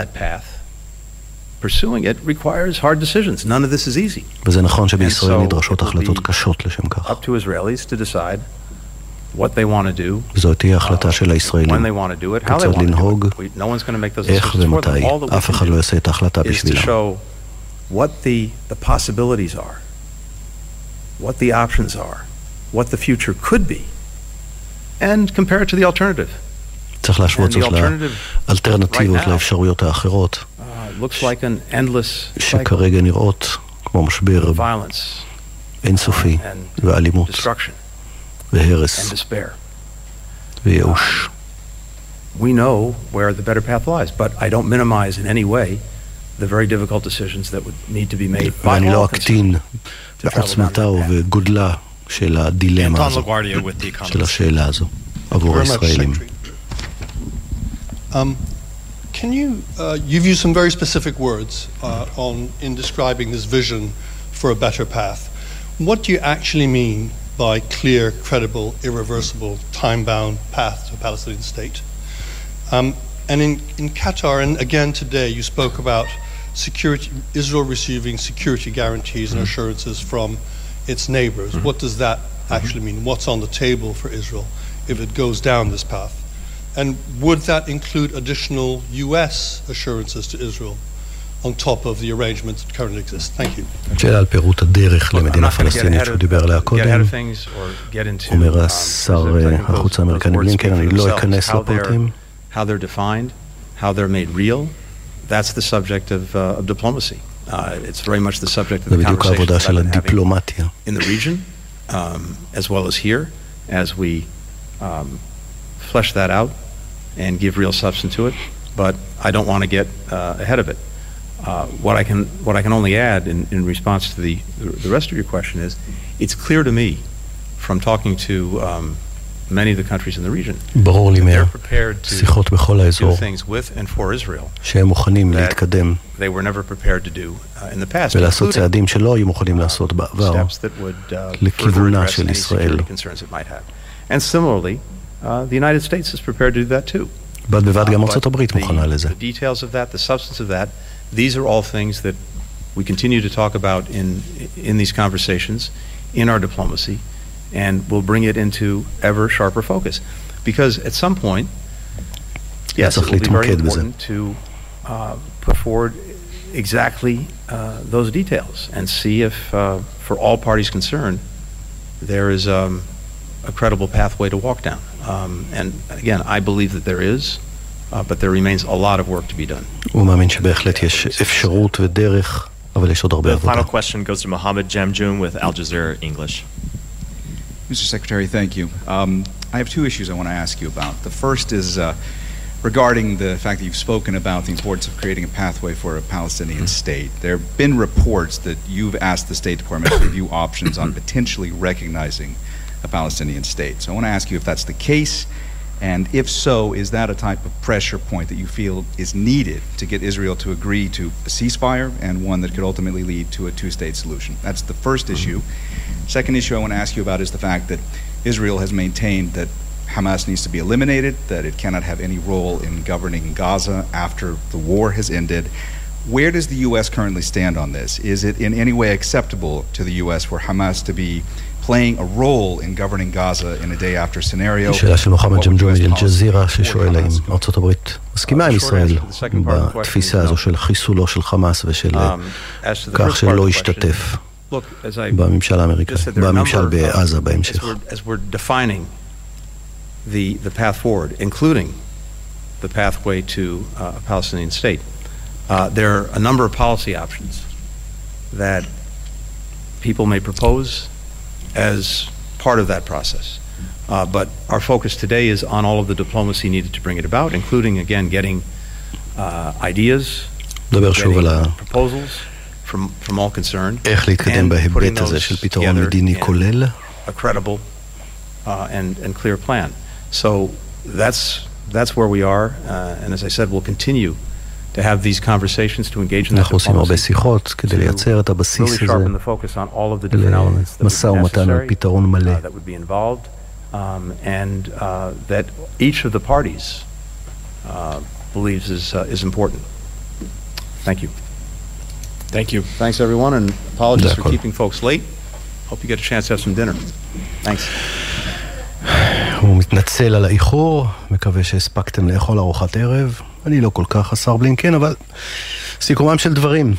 [SPEAKER 6] Pursuing it requires hard decisions. None of this is easy.
[SPEAKER 2] וזה נכון שבישראל נדרשות החלטות קשות לשם כך.
[SPEAKER 6] Up to Israelis to decide what they want to do.
[SPEAKER 2] וזו תהיה החלטה של הישראלים.
[SPEAKER 6] When they want to do it, how they
[SPEAKER 2] כיצד
[SPEAKER 6] want to
[SPEAKER 2] לנהוג,
[SPEAKER 6] do it. No one's going to make those
[SPEAKER 2] איך
[SPEAKER 6] decisions for them.
[SPEAKER 2] ומתי.
[SPEAKER 6] All that
[SPEAKER 2] אף
[SPEAKER 6] we
[SPEAKER 2] אחד
[SPEAKER 6] can
[SPEAKER 2] לא
[SPEAKER 6] do
[SPEAKER 2] יעשה את ההחלטה
[SPEAKER 6] is to
[SPEAKER 2] בשבילם.
[SPEAKER 6] show what the possibilities are, what the options are, what the future could be, and compare it to the alternative.
[SPEAKER 2] צריך להשוות זאת לאלטרנטיבות, לאפשרויות האחרות, שכרגע נראות כמו משבר אינסופי ואלימות והרס וייאוש.
[SPEAKER 6] We know where the better path lies, but I don't minimize in any way the very difficult decisions that would need to be made by
[SPEAKER 2] ואני
[SPEAKER 6] all
[SPEAKER 2] לא אקטין בעצמתה ובגודלה של הדילמה הזו, של השאלה הזו, עבור הישראלים.
[SPEAKER 10] Can you, you've used some very specific words in describing this vision for a better path. What do you actually mean by clear, credible, irreversible, time-bound path to a Palestinian state? And in Qatar, and again today, you spoke about security, Israel receiving security guarantees and assurances from its neighbors. What does that actually mean? What's on the table for Israel if it goes down this path? And would that include additional U.S. assurances to Israel on top of the arrangements that currently exist? Thank you.
[SPEAKER 2] שאלה על פירוט הדרך למדינה פלסטינית שהוא דיבר עליה קודם. אומר השר החוץ האמריקני בלינקן, אני לא אכנס לפרטים.
[SPEAKER 6] How they're defined, how they're made real, that's the subject of diplomacy. It's very much the subject of the conversations that I've been having in the region, as well as here, as we flesh that out and give real substance to it. But I don't want to get ahead of it. What I can only add in response to the rest of your question is, it's clear to me from talking to many of the countries in the region that they're prepared to do things with and for Israel that they were never prepared to do in the past, including steps that would further address any security concerns it might have. And similarly, the United States is prepared to do that too.
[SPEAKER 2] But the
[SPEAKER 6] details of that, the substance of that, these are all things that we continue to talk about in these conversations, in our diplomacy, and we'll bring it into ever sharper focus. Because at some point, yes, it will be very important to put forward exactly those details and see if, for all parties concerned, there is a credible pathway to walk down. And again, I believe that there is, but there remains a lot of work to be done.
[SPEAKER 7] The final question goes to Mohammed Jamjoon with Al Jazeera English.
[SPEAKER 11] Mr. Secretary, thank you. I have two issues I want to ask you about. The first is regarding the fact that you've spoken about the importance of creating a pathway for a Palestinian state. There have been reports that you've asked the State Department to review options on potentially recognizing a Palestinian state. So I want to ask you if that's the case, and if so, is that a type of pressure point that you feel is needed to get Israel to agree to a ceasefire and one that could ultimately lead to a two-state solution? That's the first issue. Second issue I want to ask you about is the fact that Israel has maintained that Hamas needs to be eliminated, that it cannot have any role in governing Gaza after the war has ended. Where does the U.S. currently stand on this? Is it in any way acceptable to the U.S. for Hamas to be playing a role in governing Gaza in a day after scenario?
[SPEAKER 2] שאלה של מוחמד ג'מג'ום מאל-ג'זירה ששואל האם ארצות הברית מסכימה עם ישראל בתפיסה הזו של חיסולו של חמאס ושל כך שלא ישתתף בממשל האמריקאי, בממשל בעזה בהמשך.
[SPEAKER 6] As we're defining the path forward, including the pathway to a Palestinian state, there are a number of policy options that people may propose as part of that process. But our focus today is on all of the diplomacy needed to bring it about, including, again, getting ideas, getting proposals from all concerned, and putting those together in a credible and clear plan. So that's where we are, and as I said, we'll continue to have these conversations, to engage in that diplomacy, to really sharpen the focus on all of the different elements that would be necessary, that would be involved, and that each of the parties believes is important. Thank you.
[SPEAKER 7] Thank you.
[SPEAKER 6] Thanks, everyone, and apologies for keeping folks late. Hope you get a chance to have some dinner. Thanks.
[SPEAKER 2] הוא מתנצל על האיחור, מקווה שהספקתם לאכול ארוחת ערב. אני לא כל כך, השר בלינקן, אבל סיכומם של דברים.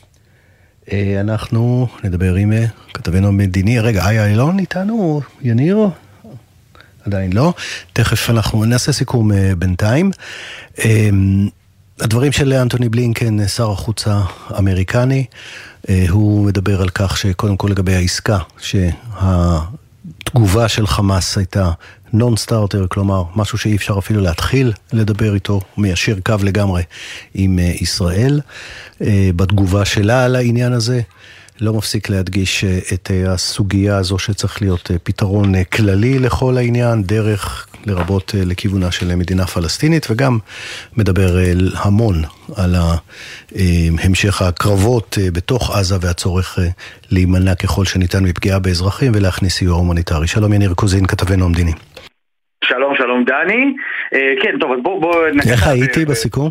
[SPEAKER 2] אנחנו נדבר עם כתבנו המדיני. רגע, איה אילון איתנו? יניר? עדיין לא. תכף אנחנו נעשה סיכום בינתיים. הדברים של אנטוני בלינקן, שר החוץ האמריקני, הוא מדבר על כך שקודם כל לגבי העסקה, התגובה של חמאס הייתה נון סטארטר, כלומר משהו שאי אפשר אפילו להתחיל לדבר איתו, מיישר קו לגמרי עם ישראל. בתגובה שלה על העניין הזה, לא מפסיק להדגיש את הסוגיה הזו שצריך להיות פתרון כללי לכל העניין, דרך לרבות לכיוונה של מדינה פלסטינית, וגם מדבר המון על המשך הקרבות בתוך עזה והצורך להימנע ככל שניתן מפגיעה באזרחים ולהכניס סיוע הומניטרי. שלום יניר קוזין, כתבנו המדיני.
[SPEAKER 3] שלום, שלום דני. כן, טוב, אז בוא
[SPEAKER 2] איך הייתי בסיכום?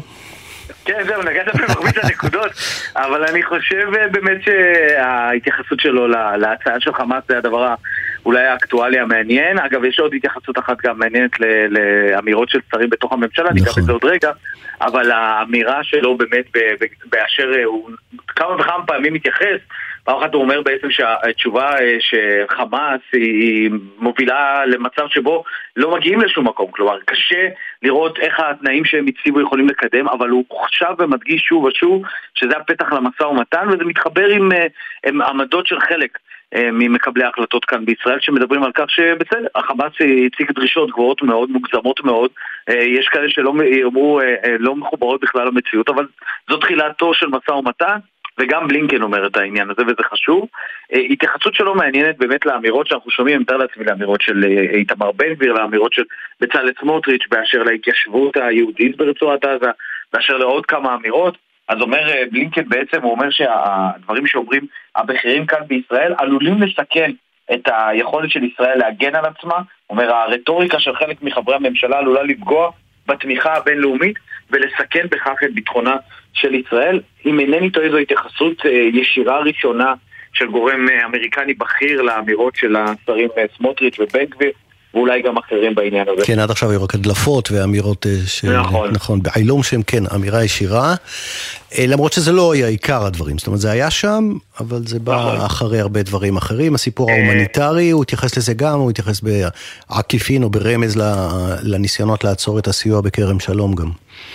[SPEAKER 3] כן, זהו, נגעת במרבית הנקודות, אבל אני חושב באמת שההתייחסות שלו להצעה של חמאס זה הדבר אולי האקטואלי המעניין. אגב, יש עוד התייחסות אחת גם מעניינת לאמירות של שרים בתוך הממשלה, ניגע בזה עוד רגע, אבל האמירה שלו באמת באשר הוא כמה וכמה פעמים מתייחס, פעם אחת הוא אומר בעצם שהתשובה שחמאס היא מובילה למצב שבו לא מגיעים לשום מקום, כלומר קשה לראות איך התנאים שהם הציבו יכולים לקדם, אבל הוא חשב ומדגיש שוב ושוב שזה הפתח למשא ומתן, וזה מתחבר עם עמדות של חלק ממקבלי ההחלטות כאן בישראל שמדברים על כך שבצד החמאס הציג דרישות גבוהות מאוד, מוגזמות מאוד, יש כאלה שלא יאמרו לא מחוברות בכלל למציאות, אבל זו תחילתו של משא ומתן, וגם בלינקן אומר את העניין הזה, וזה חשוב. התייחסות שלו מעניינת באמת לאמירות שאנחנו שומעים, מתאר לעצמי לאמירות של איתמר בן גביר, לאמירות של בצלאל סמוטריץ' באשר להתיישבות היהודית ברצועת עזה, באשר לעוד כמה אמירות. אז אומר בלינקן בעצם, הוא אומר שהדברים שאומרים הבכירים כאן בישראל עלולים לסכן את היכולת של ישראל להגן על עצמה. הוא אומר, הרטוריקה של חלק מחברי הממשלה עלולה לפגוע בתמיכה הבינלאומית ולסכן בכך את ביטחונה של ישראל. אם אינני טועה, זו התייחסות ישירה ראשונה של גורם אמריקני בכיר לאמירות של השרים סמוטריץ' ובן גביר, ואולי גם אחרים בעניין הזה.
[SPEAKER 2] כן, עד עכשיו היו רק הדלפות ואמירות נכון, בעילום שהם כן, אמירה ישירה, למרות שזה לא היה עיקר הדברים, זאת אומרת זה היה שם, אבל זה בא אחרי הרבה דברים אחרים. הסיפור ההומניטרי, הוא התייחס לזה גם, הוא התייחס בעקיפין או ברמז לניסיונות לעצור את הסיוע בכרם שלום גם.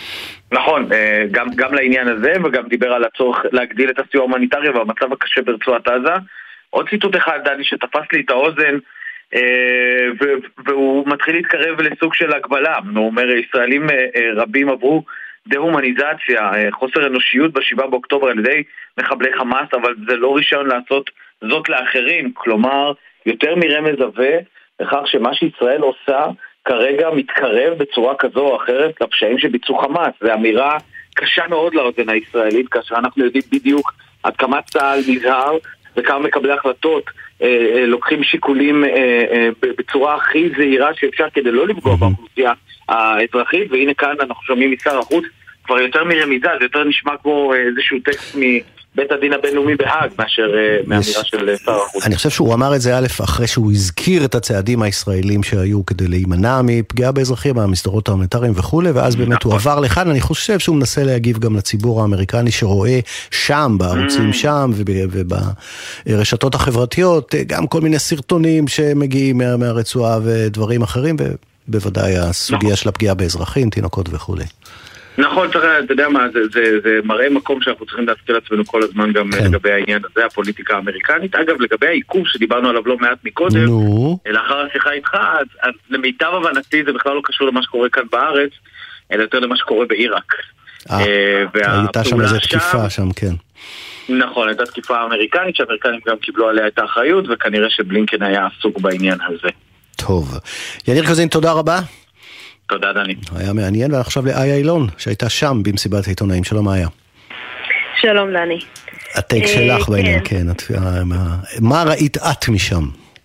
[SPEAKER 3] נכון, גם לעניין הזה, וגם דיבר על הצורך להגדיל את הסיוע ההומניטרי והמצב הקשה ברצועת עזה. עוד ציטוט אחד, דני, שתפס לי את האוזן, והוא מתחיל להתקרב לסוג של הגבלה. הוא אומר, ישראלים רבים עברו דה-הומניזציה, חוסר אנושיות ב7 באוקטובר על ידי מחבלי חמאס, אבל זה לא רישיון לעשות זאת לאחרים. כלומר, יותר מרמז עבה לכך שמה שישראל עושה כרגע מתקרב בצורה כזו או אחרת לפשעים שביצעו חמאס. זו אמירה קשה מאוד לאוזן הישראלית, כאשר אנחנו יודעים בדיוק עד כמה צה"ל נזהר וכמה מקבלי החלטות לוקחים שיקולים בצורה הכי זהירה שאפשר כדי לא לפגוע באוכלוסייה האזרחית. והנה כאן אנחנו שומעים משר החוץ כבר יותר מרמיזה, זה יותר נשמע כמו איזשהו טקסט מבית הדין הבינלאומי בהאג מאשר מהאמירה של שר החוץ.
[SPEAKER 2] אני חושב שהוא אמר את זה א' אחרי שהוא הזכיר את הצעדים הישראלים שהיו כדי להימנע מפגיעה באזרחים, המסדרות ההומניטריים וכו', ואז באמת הוא עבר לכאן. אני חושב שהוא מנסה להגיב גם לציבור האמריקני שרואה שם, בערוצים שם וברשתות החברתיות, גם כל מיני סרטונים שמגיעים מהרצועה ודברים אחרים, ובוודאי הסוגיה של הפגיעה באזרחים, תינוקות וכו'.
[SPEAKER 3] נכון, אתה יודע מה, זה מראה מקום שאנחנו צריכים להזכיר לעצמנו כל הזמן גם לגבי העניין הזה, הפוליטיקה האמריקנית. אגב, לגבי העיכוב שדיברנו עליו לא מעט מקודם, לאחר השיחה איתך, אז למיטב הבנתי זה בכלל לא קשור למה שקורה כאן בארץ, אלא יותר למה שקורה בעיראק.
[SPEAKER 2] הייתה שם איזו תקיפה שם, כן.
[SPEAKER 3] נכון, הייתה תקיפה אמריקנית, שהאמריקנים גם קיבלו עליה את האחריות, וכנראה שבלינקן היה עסוק בעניין הזה.
[SPEAKER 2] טוב. יניר קוזין, תודה רבה.
[SPEAKER 3] תודה, דני.
[SPEAKER 2] היה מעניין, ועכשיו לאיה אילון, שהייתה שם במסיבת העיתונאים. שלום, איה.
[SPEAKER 12] שלום, דני.
[SPEAKER 2] הטייק שלך בעניין, כן. מה ראית את משם?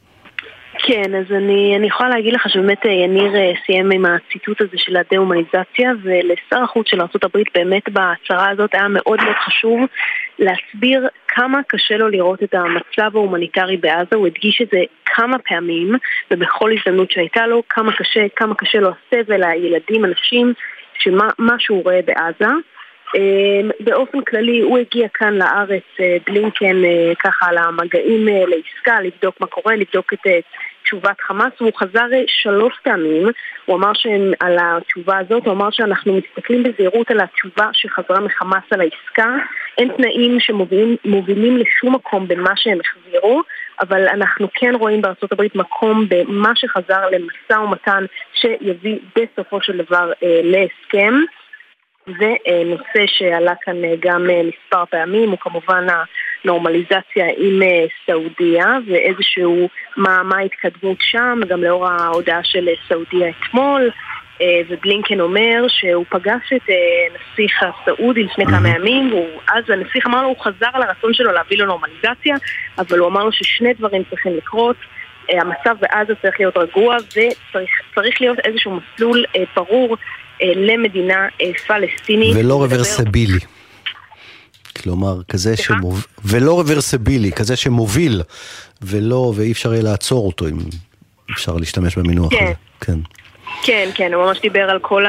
[SPEAKER 12] כן, אז אני יכולה להגיד לך שבאמת יניר סיים עם הציטוט הזה של הדה-הומניזציה, ולשר החוץ של ארצות הברית באמת בהצהרה הזאת היה מאוד מאוד חשוב להסביר כמה קשה לו לראות את המצב ההומניטרי בעזה. הוא הדגיש את זה כמה פעמים, ובכל הזדמנות שהייתה לו, כמה קשה לו הסבל, הילדים, אנשים, שמה שהוא רואה בעזה. באופן כללי הוא הגיע כאן לארץ, בלינקן, ככה על המגעים לעסקה, לבדוק מה קורה, לבדוק את תשובת חמאס. הוא חזר 3 פעמים, הוא אמר על התשובה הזאת, הוא אמר שאנחנו מסתכלים בזהירות על התשובה שחזרה מחמאס על העסקה, אין תנאים שמובילים לשום מקום בין מה שהם החזירו, אבל אנחנו כן רואים בארצות הברית מקום במה שחזר למשא ומתן שיביא בסופו של דבר להסכם. ונושא שעלה כאן גם מספר פעמים הוא כמובן הנורמליזציה עם סעודיה ואיזשהו מה ההתקדמות שם, גם לאור ההודעה של סעודיה אתמול. ובלינקן אומר שהוא פגש את נסיך הסעודי לפני כמה ימים, אז הנסיך אמר לו, הוא חזר על הרצון שלו להביא לו נורמליזציה, אבל הוא אמר לו ששני דברים צריכים לקרות, המצב בעזה צריך להיות רגוע וצריך להיות איזשהו מסלול ברור למדינה פלסטינית.
[SPEAKER 2] ולא רוורסבילי. כלומר, כזה ולא רוורסבילי, כזה שמוביל, ואי אפשר יהיה לעצור אותו, אם אפשר להשתמש במינוח הזה. כן.
[SPEAKER 12] כן, הוא ממש דיבר על כל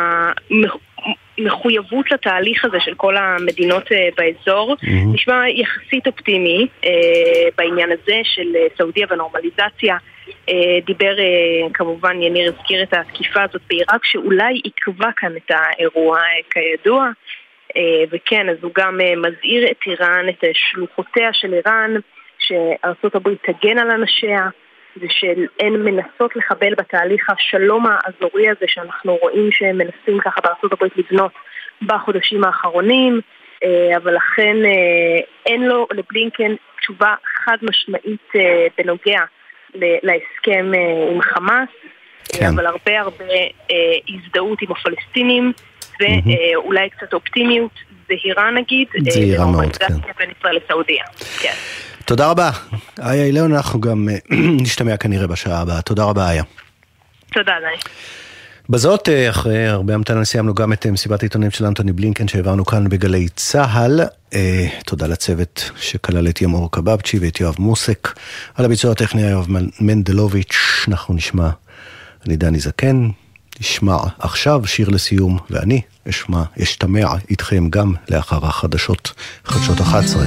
[SPEAKER 12] המחויבות לתהליך הזה של כל המדינות באזור. נשמע יחסית אופטימי בעניין הזה של סעודיה ונורמליזציה. דיבר, כמובן יניר הזכיר את התקיפה הזאת בעיראק, שאולי עקבה כאן את האירוע כידוע. וכן, אז הוא גם מזהיר את איראן, את שלוחותיה של איראן, שארצות הברית תגן על אנשיה, ושהן מנסות לחבל בתהליך השלום האזורי הזה שאנחנו רואים שהם מנסים ככה בארצות הברית לבנות בחודשים האחרונים, אבל לכן אין לו לבלינקן תשובה חד משמעית בנוגע להסכם עם חמאס, אבל הרבה הזדהות עם הפלסטינים ואולי קצת אופטימיות זהירה נגיד,
[SPEAKER 2] זהירה מאוד, כן.
[SPEAKER 12] בין ישראל לסעודיה. כן.
[SPEAKER 2] תודה רבה. איה אילון, אנחנו גם נשתמע כנראה בשעה הבאה. תודה רבה, איה.
[SPEAKER 12] תודה, דני.
[SPEAKER 2] בזאת, אחרי הרבה המתנה, סיימנו גם את מסיבת העיתונאים של אנטוני בלינקן שהעברנו כאן בגלי צהל. תודה לצוות שכלל את ימור קבבצ'י ואת יואב מוסק. על הביצוע הטכני יואב מנדלוביץ'. אנחנו נשמע, אני דני זקן, נשמע עכשיו שיר לסיום, ואני אשתמע איתכם גם לאחר החדשות, חדשות 11.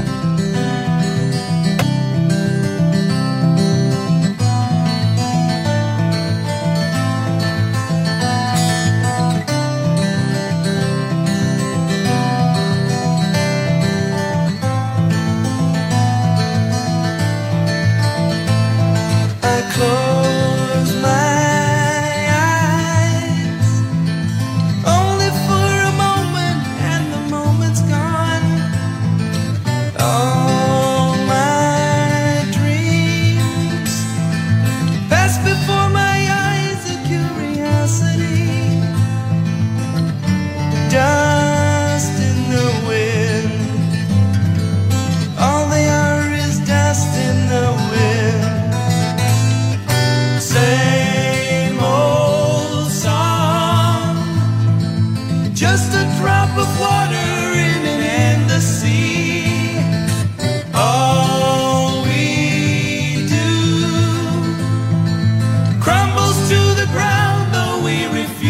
[SPEAKER 1] Crumbles to the ground, though we refuse.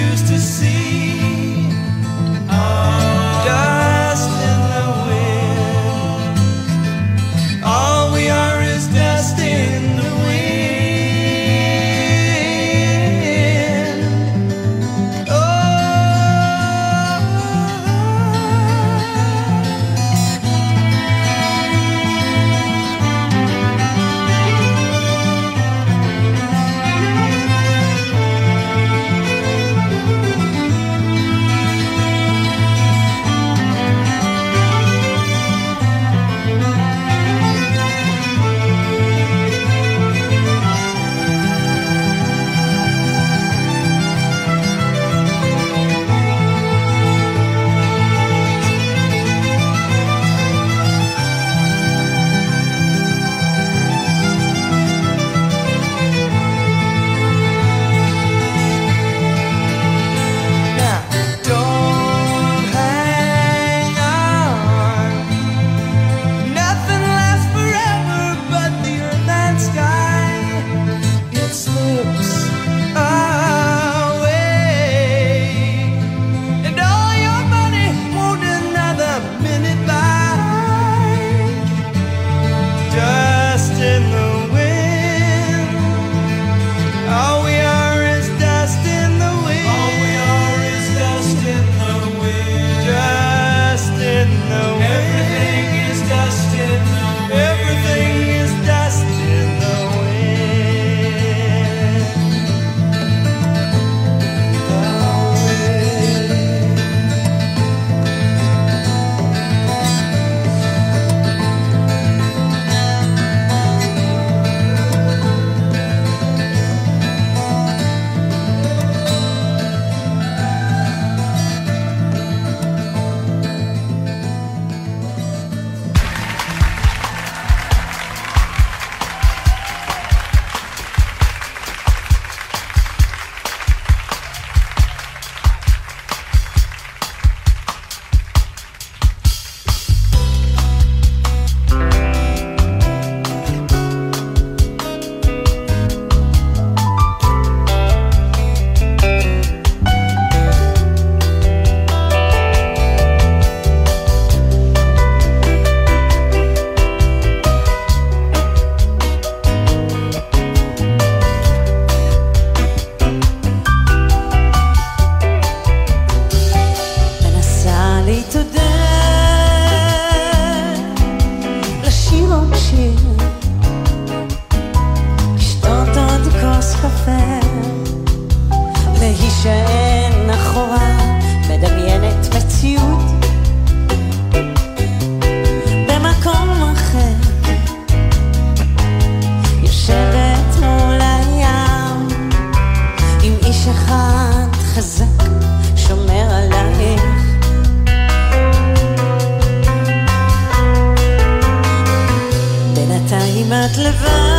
[SPEAKER 13] להישען אחורה, מדמיינת מציאות במקום אחר, יושבת מול הים עם איש אחד חזק שומר עלייך. בינתיים את לבד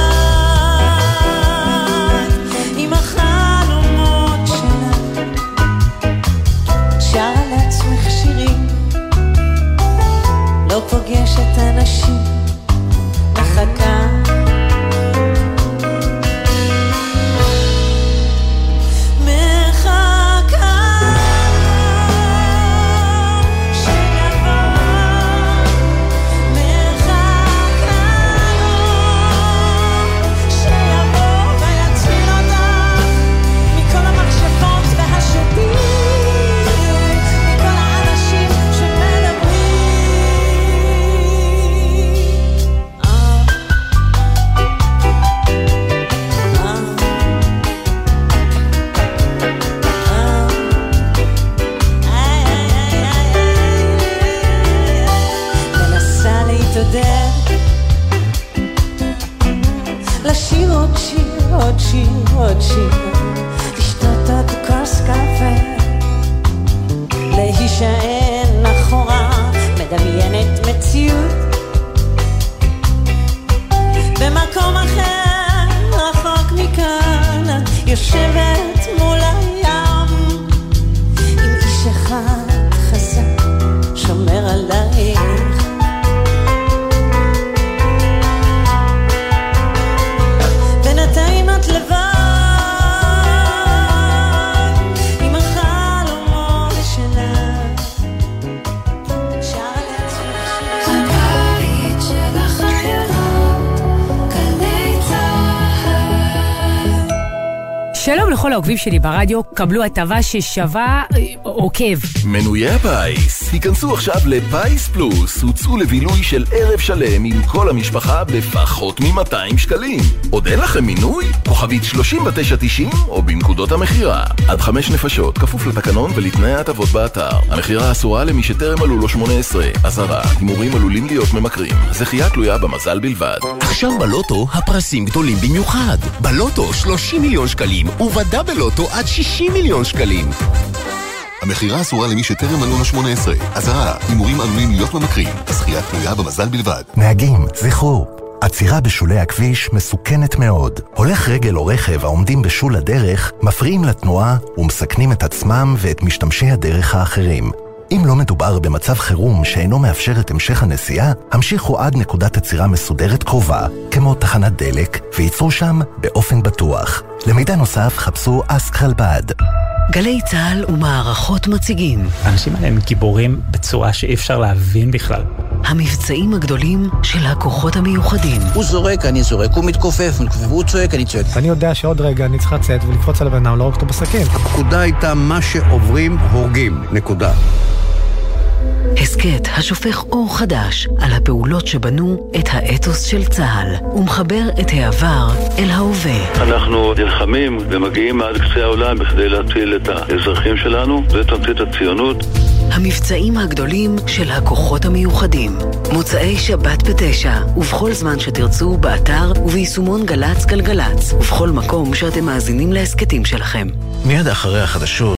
[SPEAKER 13] עם החלומות שלך, שר לעצמך שירים, לא פוגשת אנשים, מחכה לשיר עוד שיר, עוד שיר, עוד שיר, לשתות עוד כוס קפה, להישען אחורה, מדמיינת מציאות במקום אחר, רחוק מכאן, יושבת מול הים עם איש אחד חזק שומר עלייך. בינתיים את לבד עם החלומות שלך, שר לעצמך הבית של החיילות, גלי צהל.
[SPEAKER 14] שלום לכל העוקבים שלי ברדיו, קבלו הטבה ששווה עוקב.
[SPEAKER 15] מנויי הפיס, היכנסו עכשיו לפייס פלוס, הוצאו לבילוי של ערב שלם עם כל המשפחה בפחות מ-200 שקלים. עוד אין לכם מינוי? כוכבית 3990 או בנקודות המחירה. עד 5 נפשות, כפוף לתקנון ולתנאי ההטבות באתר. המחירה אסורה למי שטרם מלאו לו 18. אזהרה, הימורים עלולים להיות ממכרים. זכייה תלויה במזל בלבד.
[SPEAKER 16] עכשיו בלוטו הפרסים גדולים במיוחד. בלוטו 30 מיליון שקלים ובדאבל לוטו עד 60 מיליון שקלים.
[SPEAKER 17] המחירה אסורה למי שטרם מלאו לו 18. אזהרה, הימורים עלולים להיות ממכרים. הזכייה תלויה במזל בלבד.
[SPEAKER 18] נהגים, זכרו, עצירה בשולי הכביש מסוכנת מאוד. הולך רגל או רכב העומדים בשול הדרך מפריעים לתנועה ומסכנים את עצמם ואת משתמשי הדרך האחרים. אם לא מדובר במצב חירום שאינו מאפשר את המשך הנסיעה, המשיכו עד נקודת עצירה מסודרת קרובה, כמו תחנת דלק, וייצרו שם באופן בטוח. למידע נוסף חפשו אסק חלבד.
[SPEAKER 14] גלי צהל ומערכות מציגים.
[SPEAKER 19] האנשים האלה הם גיבורים בצורה שאי אפשר להבין בכלל.
[SPEAKER 14] המבצעים הגדולים של הכוחות המיוחדים.
[SPEAKER 20] הוא זורק, אני זורק, הוא מתכופף, והוא צועק, אני צועק.
[SPEAKER 21] אני יודע שעוד רגע אני צריך לצאת ולקפוץ על הבן אדם, לא רק אותו בסכין.
[SPEAKER 22] הפקודה הייתה מה שעוברים הורגים, נקודה.
[SPEAKER 14] הסקט השופך אור חדש על הפעולות שבנו את האתוס של צה"ל ומחבר את העבר אל ההווה.
[SPEAKER 23] אנחנו נלחמים ומגיעים עד קצה העולם בכדי להציל את האזרחים שלנו, זה תמצית הציונות.
[SPEAKER 14] המבצעים הגדולים של הכוחות המיוחדים. מוצאי שבת ב9 ובכל זמן שתרצו באתר וביישומון גלץ גלגלץ ובכל מקום שאתם מאזינים להסקטים שלכם.
[SPEAKER 18] מיד אחרי החדשות